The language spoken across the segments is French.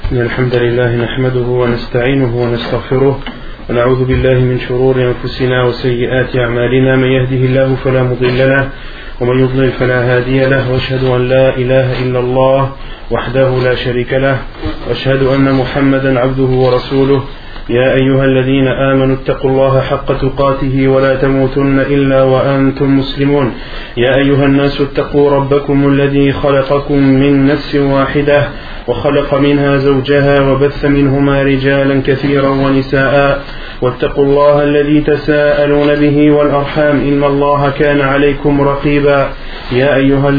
إن الحمد لله نحمده ونستعينه ونستغفره ونعوذ بالله من شرور أنفسنا وسيئات أعمالنا من يهده الله فلا مضل له ومن يضلل فلا هادي له وأشهد أن لا إله إلا الله وحده لا شريك له وأشهد أن محمدا عبده ورسوله يا أيها الذين آمنوا اتقوا الله حق تقاته ولا تموتن إلا وأنتم مسلمون يا أيها الناس اتقوا ربكم الذي خلقكم من نفس واحدة وخلق منها زوجها وبث منهما رجالا كثيرا ونساء واتقوا الله الذي تساءلون به والأرحام إن الله كان عليكم رقيبا يا أيها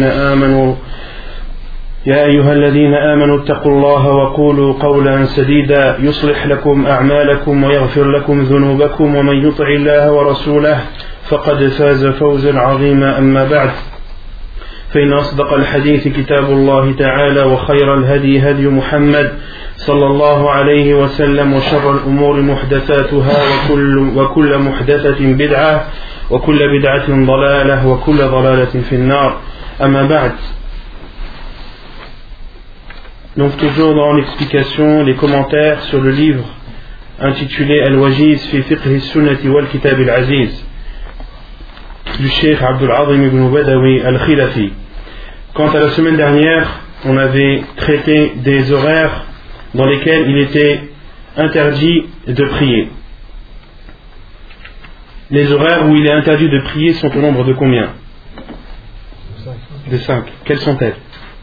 الذين آمنوا اتقوا الله وقولوا قولا سديدا يصلح لكم أعمالكم ويغفر لكم ذنوبكم ومن يطع الله ورسوله فقد فاز فوزا عظيما أما بعد فإن أصدق الحديث كتاب الله تعالى وخير الهدي هدي محمد صلى الله عليه وسلم وشر الأمور محدثاتها وكل محدثة بدعة وكل بدعة ضلالة وكل ضلالة في النار أما بعد. Donc toujours dans l'explication, les commentaires sur le livre intitulé Al-Wajiz fi fiqh sunnati wal kitab al-aziz du Cheikh Abdul Azim ibn Badawi al-Khilafi. Quant à la semaine dernière, on avait traité des horaires dans lesquels il était interdit de prier. Les horaires où il est interdit de prier sont au nombre de combien? De 5. Quelles sont-elles?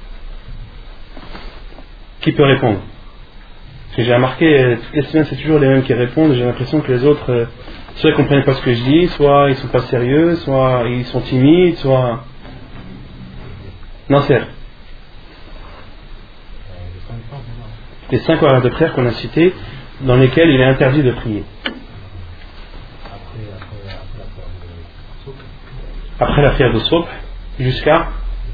Qui peut répondre? Parce que j'ai remarqué, toutes les semaines c'est toujours les mêmes qui répondent, j'ai l'impression que les autres, soit ils ne comprennent pas ce que je dis, soit ils ne sont pas sérieux, soit ils sont timides, soit... Nasser. Les 5 horaires de prière qu'on a cités, dans lesquels il est interdit de prier. Après la prière de Subh, jusqu'à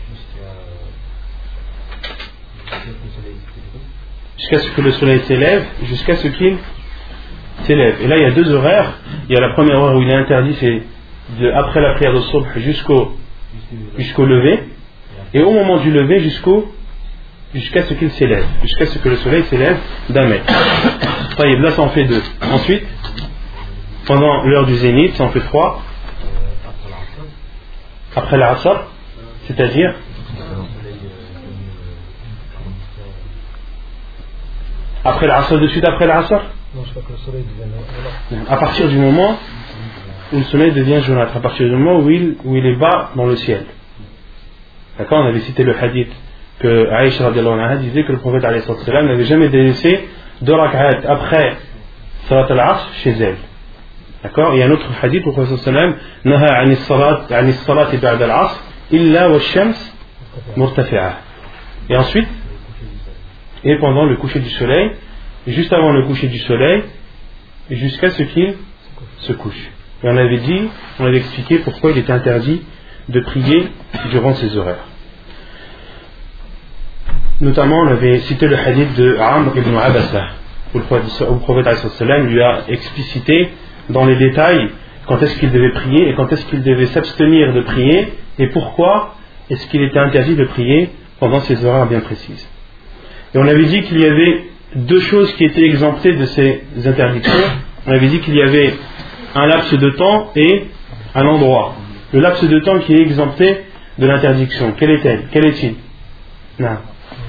ce que le soleil s'élève, jusqu'à ce qu'il s'élève. Et là, il y a 2 horaires. Il y a la première heure où il est interdit, c'est après la prière de Subh jusqu'au lever. Et au moment du lever, jusqu'à ce qu'il s'élève, jusqu'à ce que le soleil s'élève d'un mètre. Là, ça en fait 2. Ensuite, pendant l'heure du zénith, ça en fait 3. Après la Asr, c'est-à-dire après l'Asr, de suite après l'Asr? Non, je crois que le soleil devient... À partir du moment où le soleil devient jaunâtre, à partir du moment où il est bas dans le ciel. D'accord? On avait cité le hadith que Aïcha radiallahu anha disait que le prophète alayhi salam n'avait jamais délaissé 2 rak'at après salat al-asr chez elle. D'accord? Il y a un autre hadith où le prophète sallam naha ani salati ba'da al-asr illa wa shams murtafi'ah. Et ensuite, et pendant le coucher du soleil, juste avant le coucher du soleil, jusqu'à ce qu'il se couche. Et on avait expliqué pourquoi il était interdit de prier durant ces horaires. Notamment, on avait cité le hadith de Amr ibn Abasa, où le prophète lui a explicité dans les détails quand est-ce qu'il devait prier et quand est-ce qu'il devait s'abstenir de prier et pourquoi est-ce qu'il était interdit de prier pendant ces horaires bien précises. Et on avait dit qu'il y avait 2 choses qui étaient exemptées de ces interdictions. On avait dit qu'il y avait un laps de temps et un endroit. Le laps de temps qui est exempté de l'interdiction, quel est-il? Non.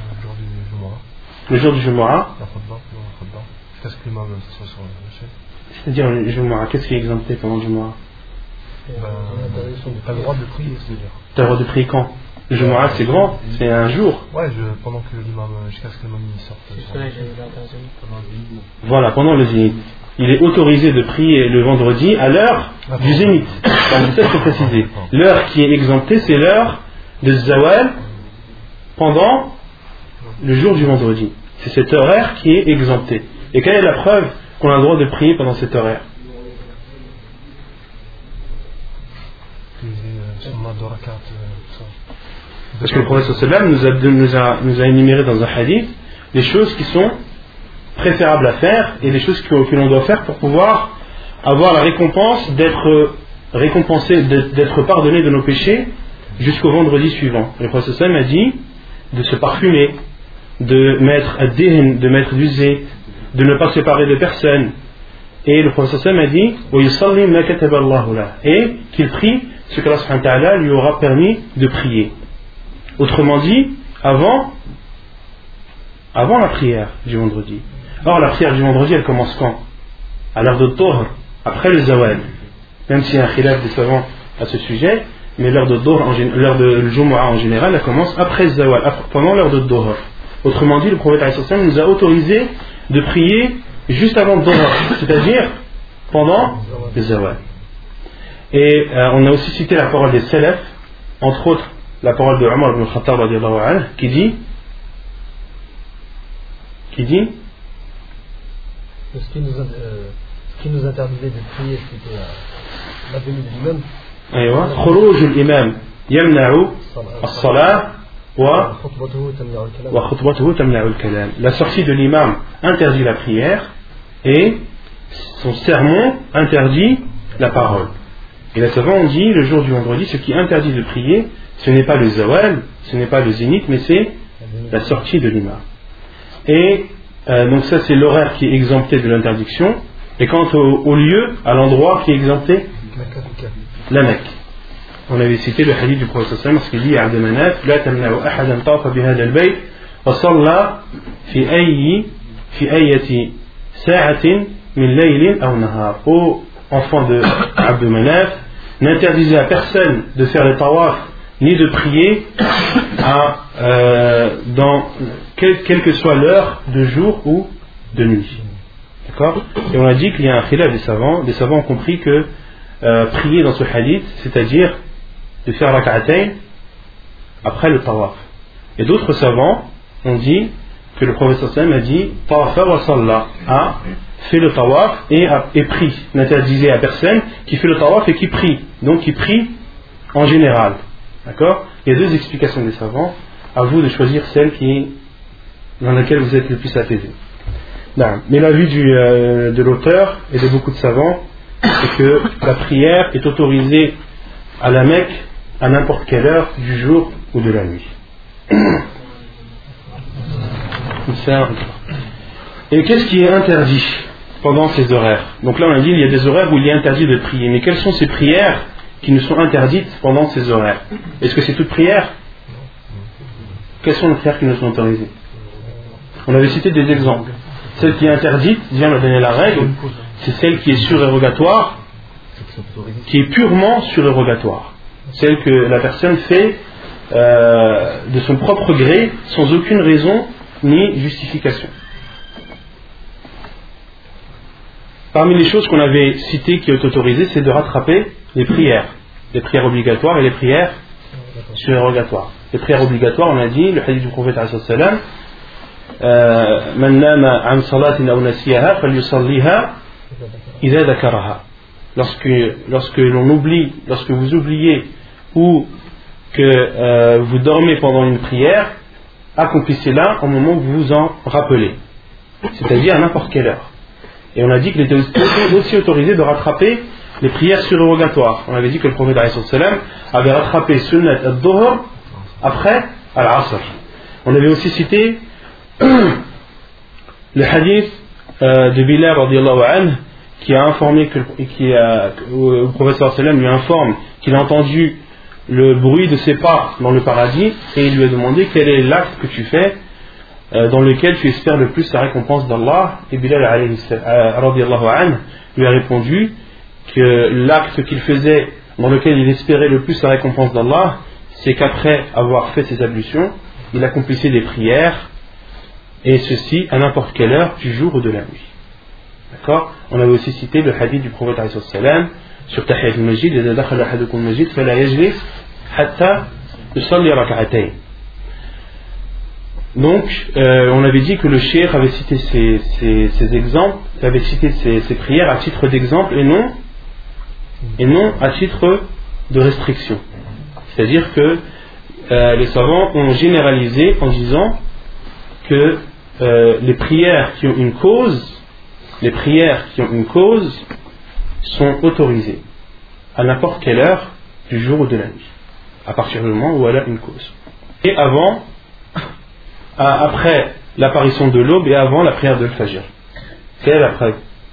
Le jour du Jumu'ah. C'est-à-dire le Jumu'ah, qu'est-ce qui est exempté pendant le Jumu'ah? Tu as le droit de prier, c'est-à-dire. Tu as le droit de prier quand? Le Jumu'ah c'est grand, c'est un jour. Ouais, pendant que l'imam, jusqu'à ce que l'imam sorte. Voilà, pendant le zénith. Il est autorisé de prier le vendredi à l'heure du zénith. Donc ça, il faut préciser. L'heure qui est exemptée, c'est l'heure de Zawal pendant le jour du vendredi. C'est cet horaire qui est exempté. Et quelle est la preuve qu'on a le droit de prier pendant cet horaire? Parce que le prophète sallam nous a énuméré dans un hadith les choses qui sont préférables à faire et les choses que l'on doit faire pour pouvoir avoir la récompense d'être récompensé, d'être pardonné de nos péchés jusqu'au vendredi suivant. Et le prophète sallam a dit de se parfumer, de mettre ad-dihn, de mettre du zayt, de ne pas séparer de personne. Et le prophète sallam a dit et qu'il prie ce que Allah subhanahu wa ta'ala lui aura permis de prier. Autrement dit, avant la prière du vendredi. Or la prière du vendredi elle commence quand? À l'heure de Dhuhr, après le zawal. Même s'il y a un khilaf des savants à ce sujet, mais l'heure de Dhuhr, l'heure de Jumu'ah en général, elle commence après le zawal, pendant l'heure de Dhuhr. Autrement dit, le prophète sallam nous a autorisé de prier juste avant le Dhuhr, c'est-à-dire pendant le zawal. Et on a aussi cité la parole des salaf, entre autres la parole de Omar ibn Khattab radiyallahu anhu, qui dit ce qui nous interdisait de prier, c'était la venue de l'imam. خروج الإمام يمنع الصلاة وخطبته تمنع الكلام. La sortie de l'imam interdit la prière et son sermon interdit la parole. Et les savants ont dit le jour du vendredi, ce qui interdit de prier, ce n'est pas le zawal, ce n'est pas le zénith, mais c'est la sortie de l'imam. Et donc ça c'est l'horaire qui est exempté de l'interdiction. Et quant au lieu, à l'endroit qui est exempté, la Mecque. On avait cité le hadith du prophète sallallahu alayhi wa sallam, parce qu'il dit à Abd Manaf la tamna'u ahadan tafa bihadha al-bayt wa salla fi ayati sa'atin min laylin aw nahar. Ô enfant de Abd Manaf, n'interdisez à personne de faire le tawaf ni de prier dans quelle que soit l'heure de jour ou de nuit. D'accord? Et on a dit qu'il y a un khilaf des savants. Les savants ont compris que prier dans ce hadith, c'est-à-dire de faire rak'atayn après le tawaf. Et d'autres savants ont dit que le prophète sallallahu alayhi wa sallam a dit tawafa wa salla, fait le tawaf et prie. N'interdisez à personne qui fait le tawaf et qui prie. Donc qui prie en général. D'accord? Il y a deux explications des savants. À vous de choisir celle dans laquelle vous êtes le plus apaisé. Mais l'avis de l'auteur et de beaucoup de savants, c'est que la prière est autorisée à la Mecque à n'importe quelle heure du jour ou de la nuit. Et qu'est-ce qui est interdit pendant ces horaires? Donc là on a dit il y a des horaires où il est interdit de prier. Mais quelles sont ces prières qui nous sont interdites pendant ces horaires? Est-ce que c'est toute prière? Quelles sont les prières qui nous sont autorisées? On avait cité des exemples. Celle qui est interdite, Dieu m'a donné la règle, c'est celle qui est surérogatoire, qui est purement surérogatoire. Celle que la personne fait de son propre gré, sans aucune raison ni justification. Parmi les choses qu'on avait citées qui est autorisées, c'est de rattraper les prières obligatoires et les prières surérogatoires. Les prières obligatoires, on a dit, le hadith du prophète sallallahu alayhi wa sallam, من نام عن صلاة أو نسيها فليصليها إذا ذكرها. Lorsque l'on oublie, lorsque vous oubliez ou que vous dormez pendant une prière, accomplissez-la au moment où vous vous en rappelez, c'est-à-dire à n'importe quelle heure. Et on a dit qu'il était aussi autorisé de rattraper les prières surérogatoires. On avait dit que le prophète avait rattrapé sunnat ad-dhuhr après al-asr. On avait aussi cité le hadith de Bilal radiyallahu anhu qui a informé le prophète sallallahu alayhi wa sallam lui informe qu'il a entendu le bruit de ses pas dans le paradis et il lui a demandé quel est l'acte que tu fais dans lequel tu espères le plus la récompense d'Allah. Et Bilal radiyallahu anhu lui a répondu que l'acte qu'il faisait dans lequel il espérait le plus la récompense d'Allah, c'est qu'après avoir fait ses ablutions il accomplissait des prières, et ceci à n'importe quelle heure du jour ou de la nuit. D'accord? On avait aussi cité le hadith du prophète alayhi salam sur Tahiyat al-Masjid, إذا دخل أحدكم المسجد فلا يجلس حتى يصلي ركعتين. Donc, on avait dit que le cheikh avait cité ces exemples, avait cité ces prières à titre d'exemple et non à titre de restriction. C'est-à-dire que les savants ont généralisé en disant que les prières qui ont une cause, sont autorisées à n'importe quelle heure du jour ou de la nuit, à partir du moment où elle a une cause. Et avant après l'apparition de l'aube et avant la prière de l'Fajr. Quelle est la preuve?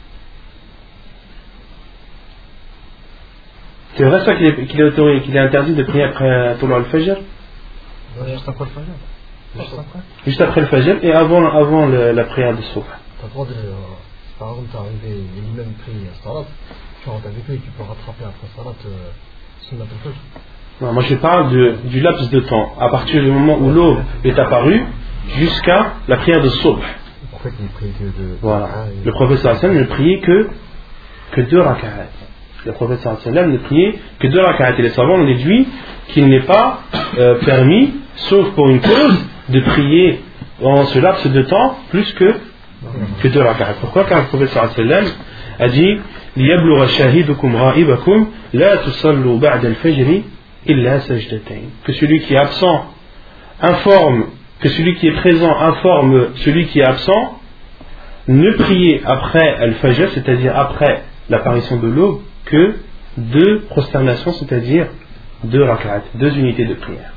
C'est vrai ça qu'il est interdit de prier après Toulou al-Fajr? Juste après le Fajr. Juste après le Fajr et avant la prière de Soubh. T'as le droit de. Par exemple, t'es arrivé et l'imam prie Salat, tu rentres avec lui et tu peux rattraper après Salat Sunnat al-Fajr. Non, moi je parle du laps de temps, à partir du moment où l'aube est apparue jusqu'à la prière de Soubh. Le prophète ne priait que deux. Voilà. Le prophète sallallahu alayhi wa sallam ne priait que 2 rak'at. Le prophète sallallahu alayhi wa sallam ne priait que 2 rak'at. Et les savants ont déduit qu'il n'est pas permis, sauf pour une cause, de prier en ce laps de temps plus que 2 rak'at. Pourquoi? Car le prophète sallallahu alayhi wa sallam a dit لِيَبْلُغَ شَاهِدُكُمْ غَائِبَكُمْ لَا تُصَلُّوا بَعْدَ الْفَجْرِ إِلَّا سَجْدَتَيْنِ. Que celui qui est absent informe, que celui qui est présent informe celui qui est absent, ne priez après Al-Fajr, c'est-à-dire après l'apparition de l'aube, que 2 prosternations, c'est-à-dire 2 rak'at, 2 unités de prière.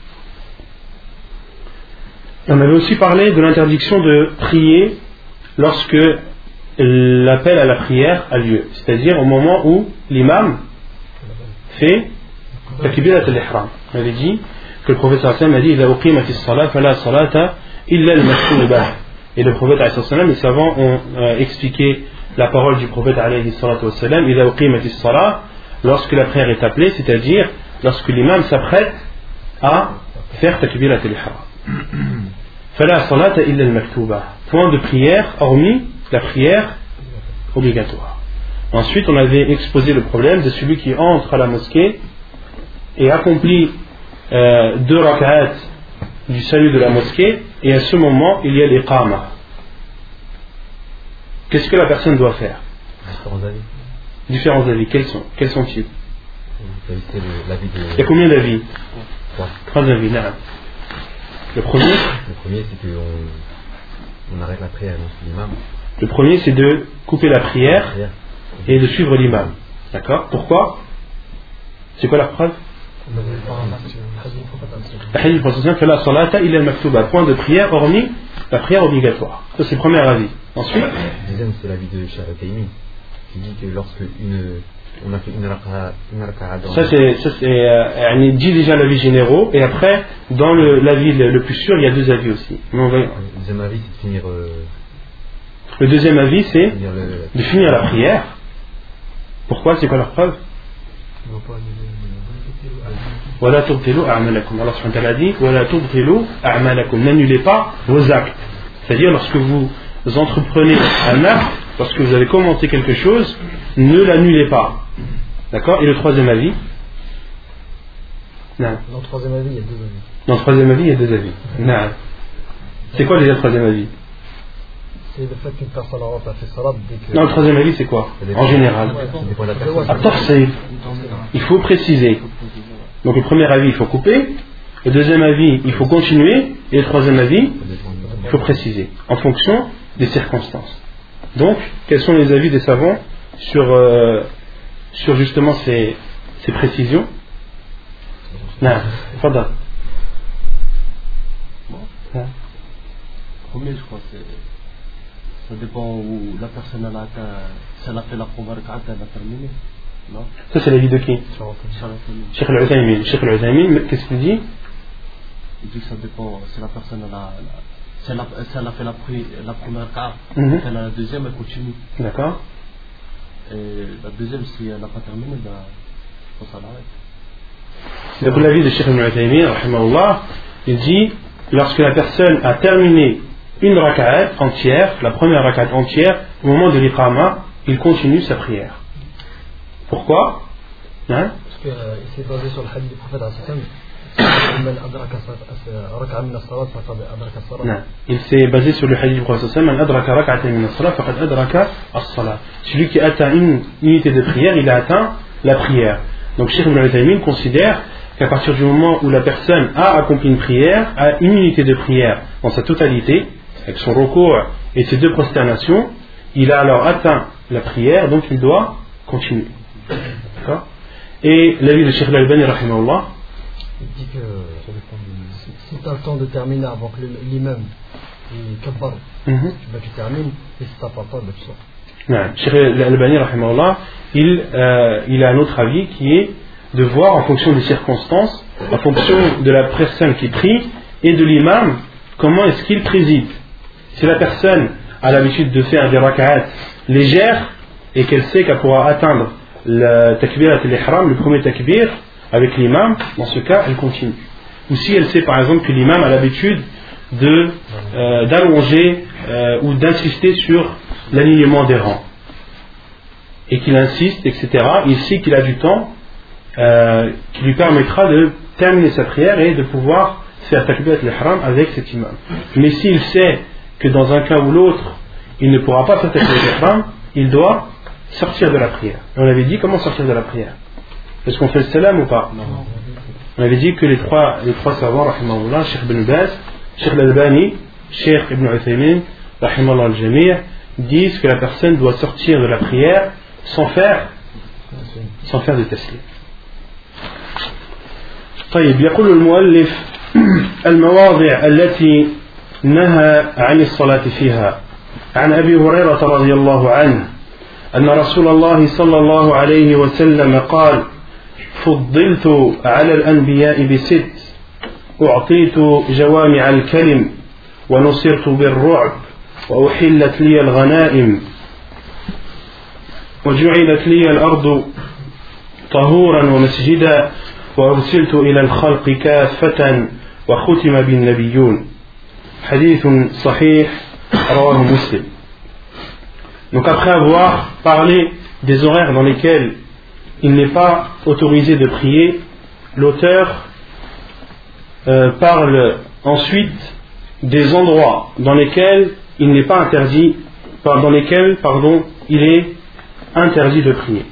Et on avait aussi parlé de l'interdiction de prier lorsque l'appel à la prière a lieu, c'est-à-dire au moment où l'imam fait takbirat al-ihram. On avait dit que le prophète sallallahu alayhi wa sallam a dit إِذَا أُقِيمَتِ الصَّلَاةُ فَلَا صَلَاةَ إِلَّا الْمَكْتُوبَةَ. Et le prophète alayhi wa sallam, les savants ont expliqué la parole du prophète alayhi wa sallam إِذَا أُقِيمَتِ الصَّلَاةُ, lorsque la prière est appelée, c'est-à-dire lorsque l'imam s'apprête à faire takbirat al-ihram. فَلَا صَلَاةَ إِلَّا الْمَكْتُوبَةَ. Point de prière hormis la prière obligatoire. Ensuite, on avait exposé le problème de celui qui entre à la mosquée et accomplit 2 rak'at du salut de la mosquée, et à ce moment il y a l'iqama. Qu'est-ce que la personne doit faire? Différents avis. Quels sont-ils? Il y a combien d'avis? 3 avis. Le premier, c'est qu'on arrête la prière de l'imam. Le premier, c'est de couper la prière et de suivre l'imam. D'accord? Pourquoi? C'est quoi la preuve? La hadith du prophète fait la salata illa al-maktuba, point de prière hormis la prière obligatoire. Ça, c'est le premier avis. Ensuite, le deuxième, c'est l'avis de Cheikh Al-Utaymi qui dit que lorsque on a fait une raka'a dans... Ça c'est dit déjà l'avis généraux, et après dans l'avis le plus sûr il y a 2 avis aussi. Le deuxième avis, c'est de finir le deuxième avis, c'est de finir la prière. Pourquoi? C'est quoi la preuve? Allah subhanahu wa ta'ala dit Wala tubtilu a'malakum, n'annulez pas vos actes. C'est-à-dire lorsque vous entreprenez un acte, lorsque vous avez commencé quelque chose, ne l'annulez pas. D'accord? Et le troisième avis? Non. Dans le troisième avis, il y a 2 avis. Dans le troisième avis, il y a 2 avis. Non. C'est quoi déjà le troisième avis? C'est le fait qu'une personne rentre à fait salat dès que... Non, le troisième avis, c'est quoi? En général. Il faut préciser. Donc le premier avis, il faut couper. Le deuxième avis, il faut continuer. Et le troisième avis, il faut préciser. En fonction des circonstances. Donc, quels sont les avis des savants sur justement ces précisions? Non, Fada. Premier, je crois, ça dépend où la personne a atteint. Si elle a fait la première rak'at, elle a terminé. Non? Ça, c'est l'avis de qui? Cheikh Al-Utaymin. Cheikh Al-Utaymin, qu'est-ce qu'il dit? Il dit que ça dépend. Si la personne si elle a fait la première rak'at, elle a la deuxième, elle continue. D'accord. Et la deuxième, si elle n'a pas terminé, ben, je pense qu'elle arrête. Donc l'avis de Cheikh Al-Utaymin, rahimahullah, il dit lorsque la personne a terminé une rak'at entière, la première rak'at entière, au moment de l'iqama, il continue sa prière. Pourquoi? Parce qu'il s'est basé sur le hadith du prophète il s'est basé sur le hadith du prophète celui qui atteint une unité de prière, il a atteint la prière. Donc Cheikh Ibn Uthaymin considère qu'à partir du moment où la personne a accompli une prière, a une unité de prière dans sa totalité, avec son recours et ses 2 prosternations, il a alors atteint la prière, donc il doit continuer. D'accord? Et l'avis de Cheikh Al-Albani, rahimahullah, Il dit que si tu as le temps de terminer avant que l'imam kabbar, tu termines, et si tu n'as pas le temps, tu sors. Cheikh Al-Albani, rahimahullah, il a un autre avis qui est de voir en fonction des circonstances, en fonction de la personne qui prie et de l'imam, comment est-ce qu'il préside. Si la personne a l'habitude de faire des rak'at légères et qu'elle sait qu'elle pourra atteindre le takbirat al-ihram, le premier takbir, avec l'imam, dans ce cas, elle continue. Ou si elle sait par exemple que l'imam a l'habitude d'allonger ou d'insister sur l'alignement des rangs, et qu'il insiste, etc., il sait qu'il a du temps qui lui permettra de terminer sa prière et de pouvoir faire takbirat al-ihram avec cet imam. Mais s'il sait que dans un cas ou l'autre, il ne pourra pas faire takbirat al-ihram, il doit sortir de la prière. Et on avait dit comment sortir de la prière. Est-ce qu'on fait le salam ou pas? Non. On avait dit que les trois savants, rahimahullah, Cheikh Ibn Baz, Cheikh Al-Albani, Cheikh Ibn Uthaymin, rahimahullah al-Jami', disent que la personne doit sortir de la prière sans faire de taslim. طيب يقول المؤلف المواضع التي نهى عن الصلاة فيها عن أبي هريرة رضي الله عنه أن رسول الله صلى الله عليه وسلم قال فضلت على الأنبياء بست أعطيت جوامع الكلم ونصرت بالرعب وأحلت لي الغنائم وجعلت لي الأرض طهورا ومسجدا وأرسلت إلى الخلق كافة وختم بالنبيون حديث صحيح رواه مسلم. Donc après avoir parlé des horaires dans lesquels il n'est pas autorisé de prier, l'auteur parle ensuite des endroits dans lesquels il n'est pas interdit, dans lesquels, il est interdit de prier.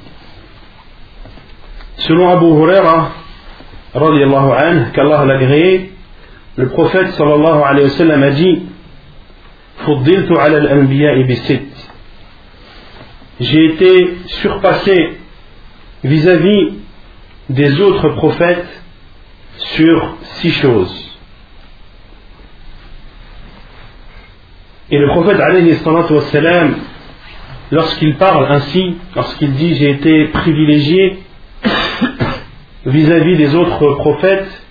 Selon Abu Huraira, radiyallahu anhu, qu'Allah l'a agréé, le prophète sallallahu alayhi wa sallam a dit Fuddiltu ala al-anbiya'i bisit. J'ai été surpassé vis-à-vis des autres prophètes sur 6 choses. Et le prophète alayhi salatu wassalam, lorsqu'il parle ainsi, lorsqu'il dit j'ai été privilégié vis-à-vis des autres prophètes,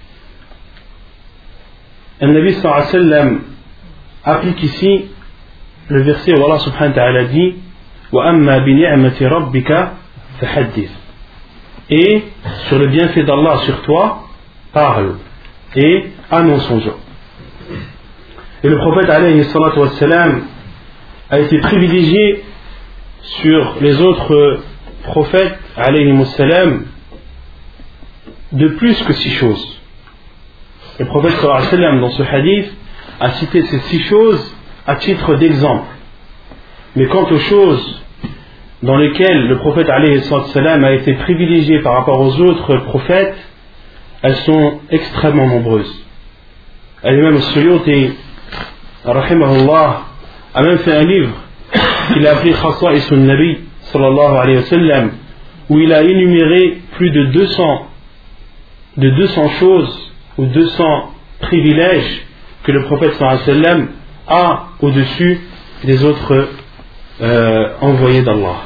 le Nabi sallallahu alayhi wa sallam applique ici le verset où Allah subhanahu wa ta'ala dit وَأَمَّا بِنِعْمَةِ رَبِّكَ فَحَدِّثْ. Et sur le bienfait d'Allah sur toi, parle et annonce aux gens. Et le prophète alayhi salatu wassalam a été privilégié sur les autres prophètes alayhi wassalam de plus que 6 choses. Le prophète sallallahu alayhi wa sallam dans ce hadith a cité ces 6 choses à titre d'exemple. Mais quant aux choses dans lesquelles le prophète alayhi salam a été privilégié par rapport aux autres prophètes, elles sont extrêmement nombreuses. L'imam al-Suyuti rahimahullah a même fait un livre qu'il a appelé Khasa'is al-Nabi sallallahu alayhi wa sallam, où il a énuméré plus de 200 choses ou 200 privilèges que le prophète sallallahu alayhi wa sallam a au-dessus des autres envoyés d'Allah.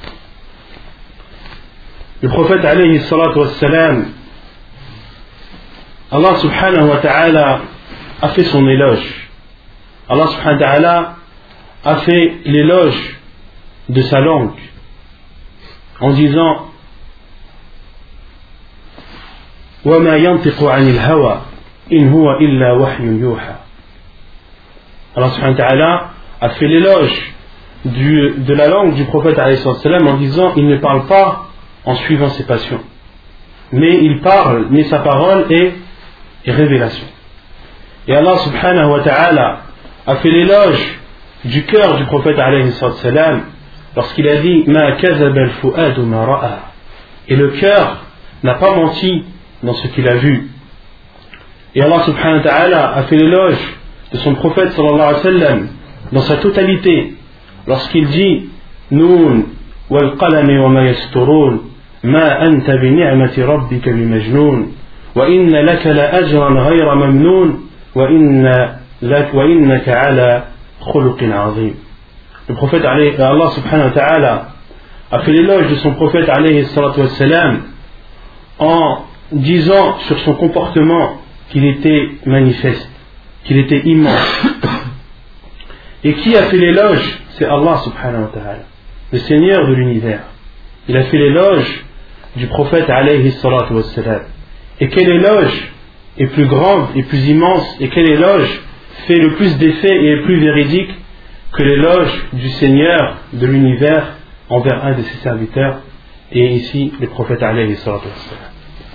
Le prophète alayhi salatu wassalam, Allah subhanahu wa ta'ala a fait son éloge. Allah subhanahu wa ta'ala a fait l'éloge de sa langue en disant وَمَا يَنْطِقُ عَنِ الْهَوَى إِنْ هُوَ إِلَّا وَحْيٌ يُوحَى. Allah subhanahu wa ta'ala a fait l'éloge de la langue du prophète alayhi salam en disant il ne parle pas en suivant ses passions, mais il parle, mais sa parole est révélation. Et Allah subhanahu wa ta'ala a fait l'éloge du cœur du prophète alayhi salam lorsqu'il a dit ma kazaba al-fu'adu ma ra'a, et le cœur n'a pas menti dans ce qu'il a vu. Et Allah subhanahu wa ta'ala a fait l'éloge de son prophète sallallahu alayhi wa sallam dans sa totalité lorsqu'il dit Noun wal qalami wa ma yasturun ma anta bi ni'mati rabbika bi majnun وإن لك لأجرا غير ممنون وإنك على خلق عظيم. Le prophète Allah subhanahu wa ta'ala a fait l'éloge de son prophète alayhi salatu wassalam en disant sur son comportement qu'il était manifeste, qu'il était immense. Et qui a fait l'éloge? C'est Allah subhanahu wa ta'ala, le Seigneur de l'univers. Il a fait l'éloge du prophète alayhi salatu wassalam. Et quel éloge est plus grande et plus immense, et quel éloge fait le plus d'effet et est plus véridique que l'éloge du Seigneur de l'univers envers un de ses serviteurs, et ici le prophète alayhi salatu wassalam.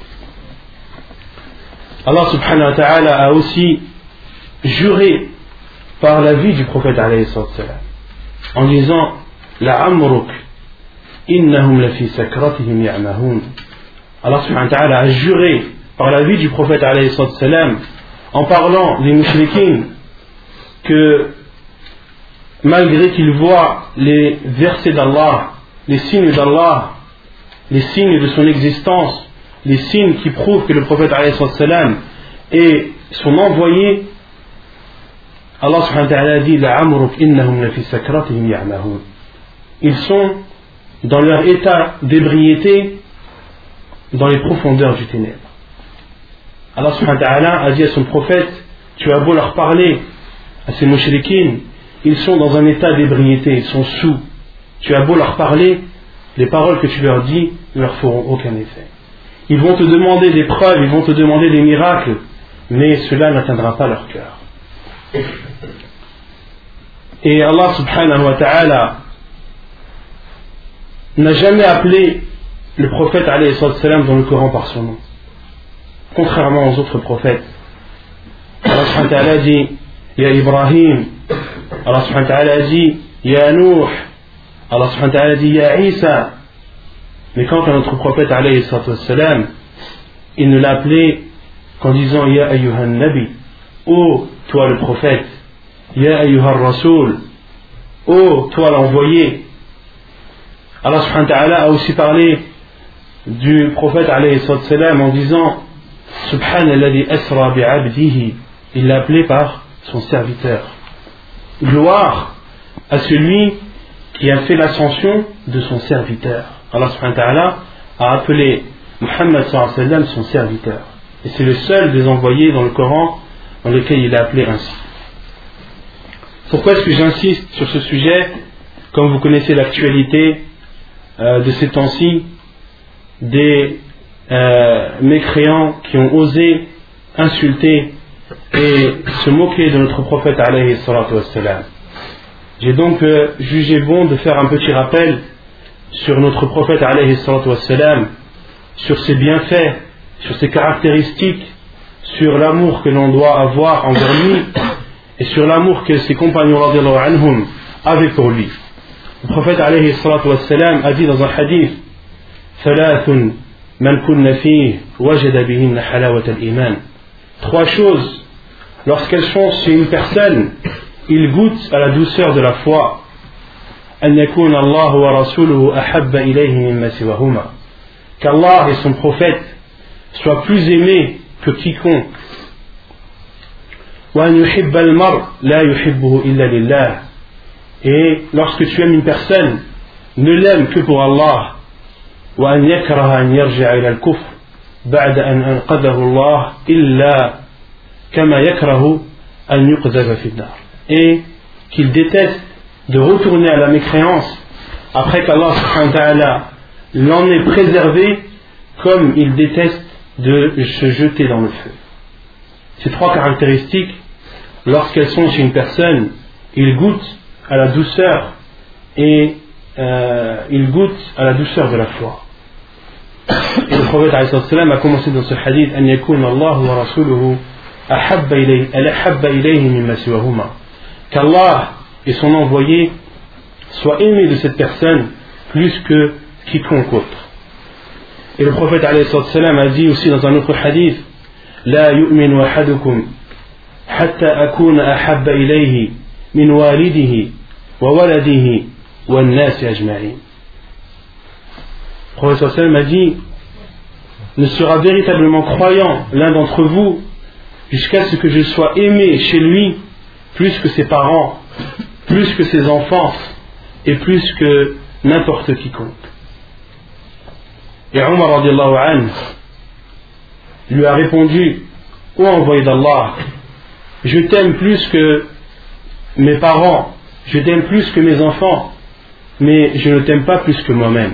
Allah subhanahu wa ta'ala a aussi juré par la vie du prophète alayhi salatu wassalam en disant la'amruk innahum lafi sakratihim ya'mahun. Allah subhanahu wa ta'ala a juré par la vie du prophète alayhi salatu wassalam en parlant des mushrikines que malgré qu'ils voient les versets d'Allah, les signes d'Allah, les signes de son existence, les signes qui prouvent que le prophète alayhi salatu wassalam est son envoyé, Allah subhanahu wa ta'ala dit la'amruk innahum lafi sakratihim ya'mahun. Ils sont dans leur état d'ébriété dans les profondeurs du ténèbre. Allah subhanahu wa ta'ala a dit à son prophète, tu as beau leur parler, à ces mushrikines, ils sont dans un état d'ébriété, ils sont sous. Tu as beau leur parler, les paroles que tu leur dis ne leur feront aucun effet. Ils vont te demander des preuves, ils vont te demander des miracles, mais cela n'atteindra pas leur cœur. Et Allah subhanahu wa ta'ala n'a jamais appelé le prophète alayhi salam dans le Coran par son nom, contrairement aux autres prophètes. Allah subhanahu wa ta'ala dit Ya Ibrahim, Allah subhanahu wa ta'ala dit Ya Nuh, Allah subhanahu wa ta'ala dit Ya Isa. Mais quant à notre prophète alayhi salam, il ne l'a appelé qu'en disant Ya ayyuhan nabi, ô toi le prophète, Ya ayyuhar rasoul, ô toi l'envoyé. Allah subhanahu wa ta'ala a aussi parlé du prophète alayhi salam en disant Subhanalladhi asra bi'abdihi, il l'a appelé par son serviteur. Gloire à celui qui a fait l'ascension de son serviteur. Allah subhanahu wa ta'ala a appelé Muhammad sallallahu alayhi wa sallam son serviteur. Et c'est le seul des envoyés dans le Coran dans lequel il est appelé ainsi. Pourquoi est-ce que j'insiste sur ce sujet? Comme vous connaissez l'actualité de ces temps-ci, des mécréants qui ont osé insulter et se moquer de notre prophète alayhi salatu wassalam. J'ai donc jugé bon de faire un petit rappel sur notre prophète alayhi salatu wassalam, sur ses bienfaits, sur ses caractéristiques, sur l'amour que l'on doit avoir envers lui et sur l'amour que ses compagnons radiyallahu anhum avaient pour lui. Le prophète alayhi salatu wassalam a dit dans un hadith Thalathun man kunna fihi wajada bihinna halawat al-iman. Trois choses, lorsqu'elles sont chez une personne, il goûte à la douceur de la foi. An yakuna Allah wa rasuluhu ahabba ilayhi mimma siwahuma. Qu'Allah et son prophète soient plus aimés que quiconque. Wa an yuhibba al-mar la yuhibbuhu illa lillah. Et lorsque tu aimes une personne, ne l'aime que pour Allah. Wa an yakraha an yarji'a ila al-kufr ba'da an anqadhahu Allah illa kama yakrahu an yuqdhafa fi an-nar. Et qu'il déteste de retourner à la mécréance après qu'Allah subhanahu wa ta'ala l'en ait préservé, comme il déteste de se jeter dans le feu. Ces trois caractéristiques, lorsqu'elles sont chez une personne, il goûte à la douceur et il goûte à la douceur de la foi. Et le prophète a commencé dans ce hadith an yakuna Allah wa rasuluhu ahabba ilayhi mimma siwahuma, qu'Allah et son envoyé soient aimés de cette personne plus que quiconque autre. Et le prophète a dit aussi dans un autre hadith la yu'minu ahadukum hatta akuna ahabba ilayhi min walidihi wa waladihi wa an-nas ajma'in. Le prophète a dit ne sera véritablement croyant l'un d'entre vous jusqu'à ce que je sois aimé chez lui plus que ses parents, plus que ses enfants et plus que n'importe quiconque. Et Omar radiallahu anhu lui a répondu: ô envoyé d'Allah, je t'aime plus que mes parents, je t'aime plus que mes enfants, mais je ne t'aime pas plus que moi-même.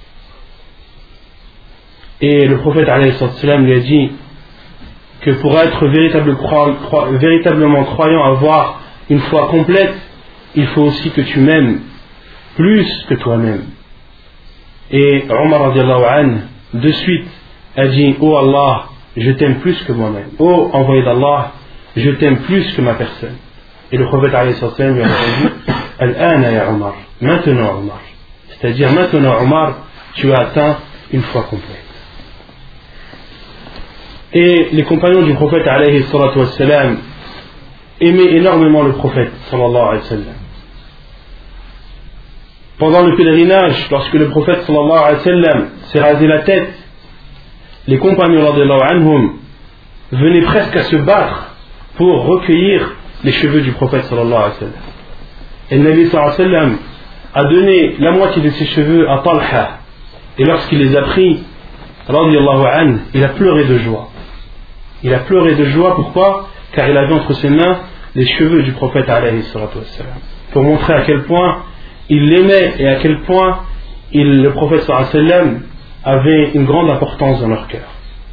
Et le prophète alayhi salam lui a dit que pour être véritablement croyant, avoir une foi complète, il faut aussi que tu m'aimes plus que toi-même. Et Omar radiallahu anhu de suite a dit: ô Allah, je t'aime plus que moi-même. Ô envoyé d'Allah, je t'aime plus que ma personne. Et le prophète alayhi salam lui a répondu: Al-ana ya Omar, maintenant Omar, c'est-à-dire maintenant Omar, tu as atteint une foi complète. Et les compagnons du prophète alayhi salatu wassalam aimaient énormément le prophète sallallahu alayhi wa sallam. Pendant le pèlerinage, lorsque le prophète sallallahu alayhi wa sallam s'est rasé la tête, les compagnons radiallahu anhum venaient presque à se battre pour recueillir les cheveux du prophète sallallahu alayhi wa sallam. Et le Nabi sallallahu alayhi wa sallam a donné la moitié de ses cheveux à Talha, et lorsqu'il les a pris, radiallahu anhu, il a pleuré de joie. Il a pleuré de joie, pourquoi? Car il avait entre ses mains les cheveux du prophète alayhi salatu wassalam, pour montrer à quel point il l'aimait et à quel point le prophète sallallahu alayhi wa sallam avait une grande importance dans leur cœur.